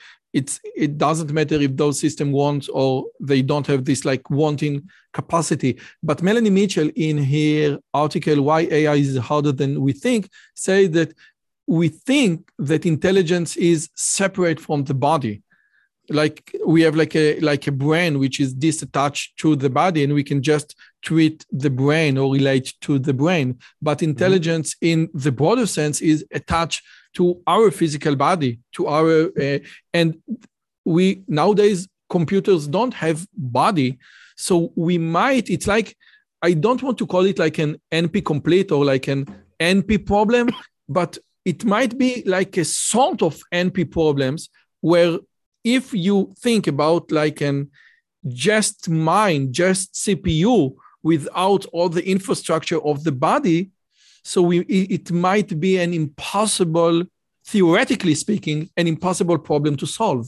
It doesn't matter if those systems want or they don't have this like wanting capacity. But Melanie Mitchell, in her article "Why AI is Harder Than We Think," say that we think that intelligence is separate from the body. Like we have like a brain which is disattached to the body, and we can just treat the brain or relate to the brain. But intelligence in the broader sense is attached to our physical body, to our and we nowadays computers don't have body, so we might. It's like, I don't want to call it like an NP complete or like an NP problem, but it might be like a sort of NP problems where if you think about like an just mind, just CPU without all the infrastructure of the body, so it might be an impossible, theoretically speaking, an impossible problem to solve.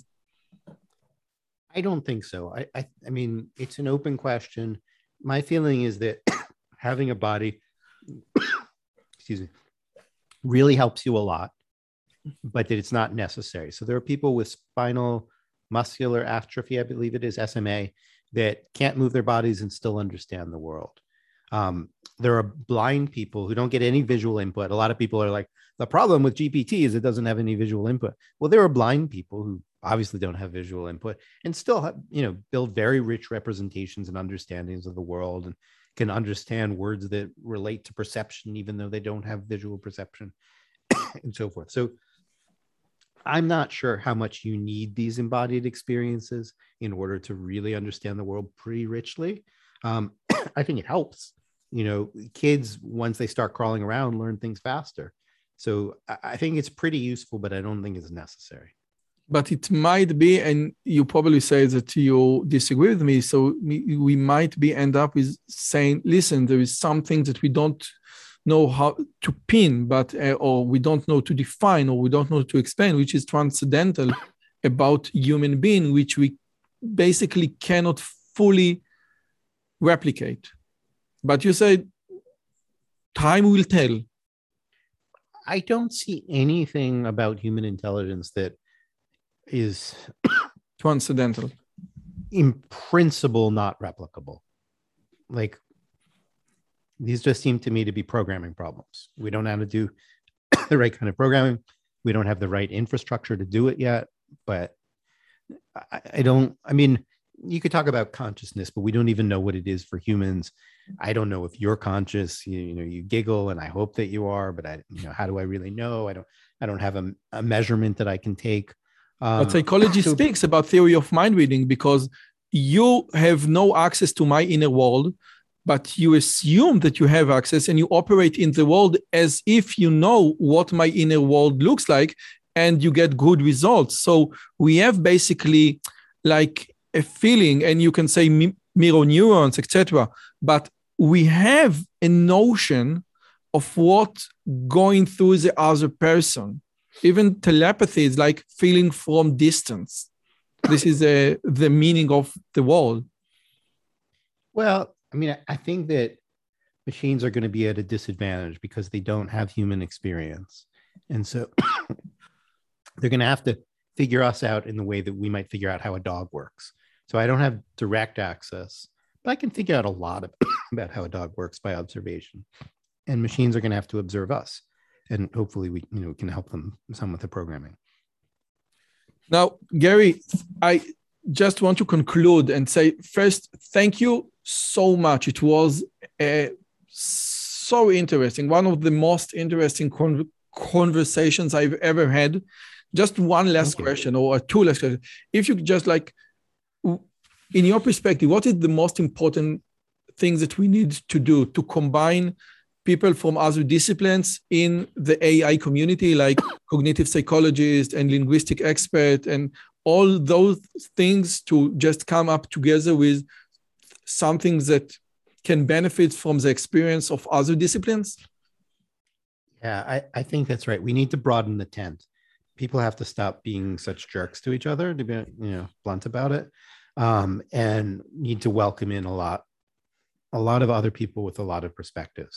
I don't think so. I mean, it's an open question. My feeling is that having a body, excuse me, really helps you a lot, but that it's not necessary. So there are people with spinal muscular atrophy, I believe it is, SMA, that can't move their bodies and still understand the world. There are blind people who don't get any visual input. A lot of people are like, the problem with GPT is it doesn't have any visual input. Well, there are blind people who obviously don't have visual input and still have, build very rich representations and understandings of the world and can understand words that relate to perception, even though they don't have visual perception and so forth. So I'm not sure how much you need these embodied experiences in order to really understand the world pretty richly. I think it helps. Kids, once they start crawling around, learn things faster. So I think it's pretty useful, but I don't think it's necessary. But it might be, and you probably say that you disagree with me, so we might end up with saying, listen, there is something that we don't know how to pin, but or we don't know to define, or we don't know to explain, which is transcendental about human being, which we basically cannot fully replicate. But you say time will tell. I don't see anything about human intelligence that is transcendental, in principle not replicable. Like, these just seem to me to be programming problems. We don't know how to do the right kind of programming. We don't have the right infrastructure to do it yet. But I mean, you could talk about consciousness, but we don't even know what it is for humans. I don't know if you're conscious. You giggle, and I hope that you are, but how do I really know? I don't have a measurement that I can take. But psychology speaks about theory of mind reading, because you have no access to my inner world, but you assume that you have access, and you operate in the world as if you know what my inner world looks like, and you get good results. So we have basically like a feeling, and you can say mirror neurons, etc. But we have a notion of what going through the other person. Even telepathy is like feeling from distance. This is the meaning of the world. Well, I mean, I think that machines are going to be at a disadvantage because they don't have human experience. And so they're going to have to figure us out in the way that we might figure out how a dog works. So I don't have direct access, but I can figure out a lot about how a dog works by observation. And machines are going to have to observe us. And hopefully we can help them some with the programming. Now, Gary, I just want to conclude and say, first, thank you so much. It was so interesting. One of the most interesting conversations I've ever had. Just one last question, or two last questions. If you just like, in your perspective, what is the most important things that we need to do to combine people from other disciplines in the AI community, like cognitive psychologists and linguistic expert, and all those things, to just come up together with something that can benefit from the experience of other disciplines? Yeah, I think that's right. We need to broaden the tent. People have to stop being such jerks to each other, to be blunt about it, and need to welcome in a lot of other people with a lot of perspectives.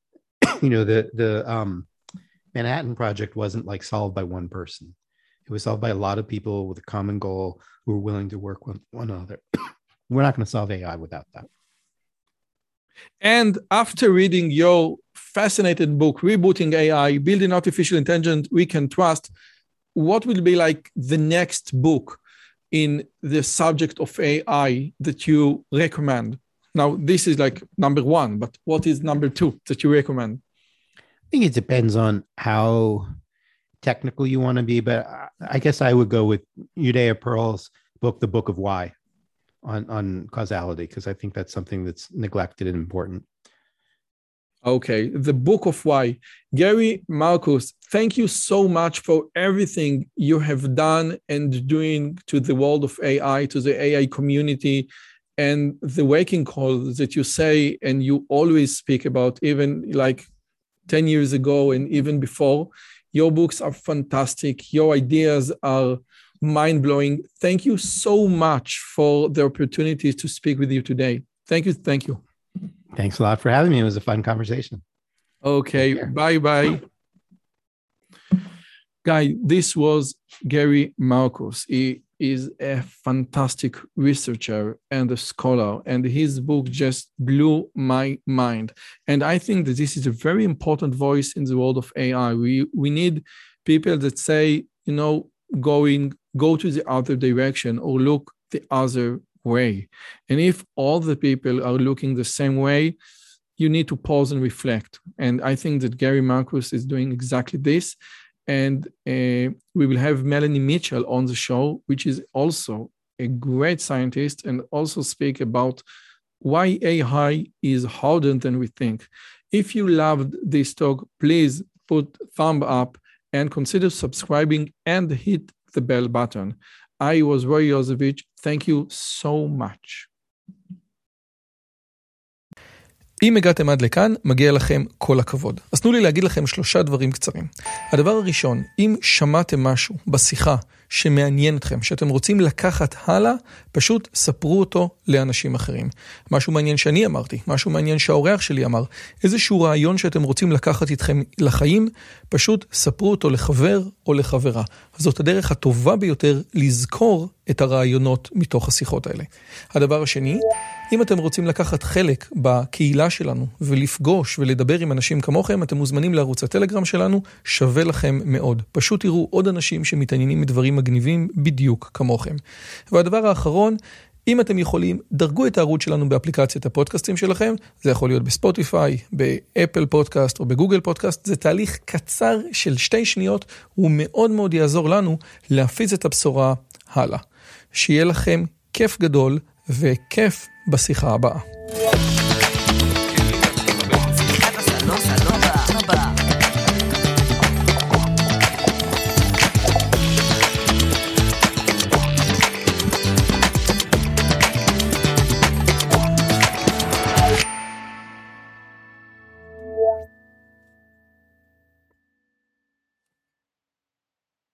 The Manhattan Project wasn't like solved by one person. It was solved by a lot of people with a common goal who were willing to work with one another. We're not going to solve AI without that. And after reading your fascinating book, Rebooting AI, Building Artificial Intelligence We Can Trust, what will be like the next book in the subject of AI that you recommend? Now, this is like number one, but what is number two that you recommend? I think it depends on how technical you want to be, but I guess I would go with Udaya Pearl's book, The Book of Why, on causality, because I think that's something that's neglected and important. Okay, The Book of Why. Gary Marcus, thank you so much for everything you have done and doing to the world of AI, to the AI community, and the waking call that you say and you always speak about, even like 10 years ago and even before. Your books are fantastic. Your ideas are mind-blowing. Thank you so much for the opportunity to speak with you today. Thank you. Thank you. Thanks a lot for having me. It was a fun conversation. Okay, bye-bye. Guy, this was Gary Marcus. He is a fantastic researcher and a scholar, and his book just blew my mind. And I think that this is a very important voice in the world of AI. We need people that say, go to the other direction or look the other way. And if all the people are looking the same way, you need to pause and reflect. And I think that Gary Marcus is doing exactly this. And we will have Melanie Mitchell on the show, which is also a great scientist, and also speak about why AI is harder than we think. If you loved this talk, please put thumb up and consider subscribing and hit the bell button. I was Roy Yosevich. Thank you so much. אם הגעתם עד לכאן, מגיע לכם כל הכבוד. אז תנו לי להגיד לכם 3 דברים קצרים. הדבר הראשון, אם שמעתם משהו בשיחה שמעניין אתכם, שאתם רוצים לקחת הלאה, פשוט ספרו אותו לאנשים אחרים. משהו מעניין שאני אמרתי, משהו מעניין שהאורח שלי אמר, איזשהו רעיון שאתם רוצים לקחת איתכם לחיים, פשוט ספרו אותו לחבר או לחברה. אז זאת הדרך הטובה ביותר לזכור את הרעיונות מתוך השיחות האלה. הדבר השני, אם אתם רוצים לקחת חלק בקהילה שלנו ולפגוש ולדבר עם אנשים כמוכם, אתם מוזמנים לערוץ הטלגרם שלנו, שווה לכם מאוד. פשוט תראו עוד אנשים שמתעניינים מדברים מגניבים בדיוק כמוכם. והדבר האחרון, אם אתם יכולים, דרגו את הערוץ שלנו באפליקציית הפודקאסטים שלכם, זה יכול להיות בספוטיפיי, באפל פודקאסט או בגוגל פודקאסט, זה תהליך קצר של 2 שניות, הוא מאוד מאוד יעזור לנו להפיץ את הבשורה הלאה. שיהיה לכם כיף גדול וכיף בשיחה הבאה.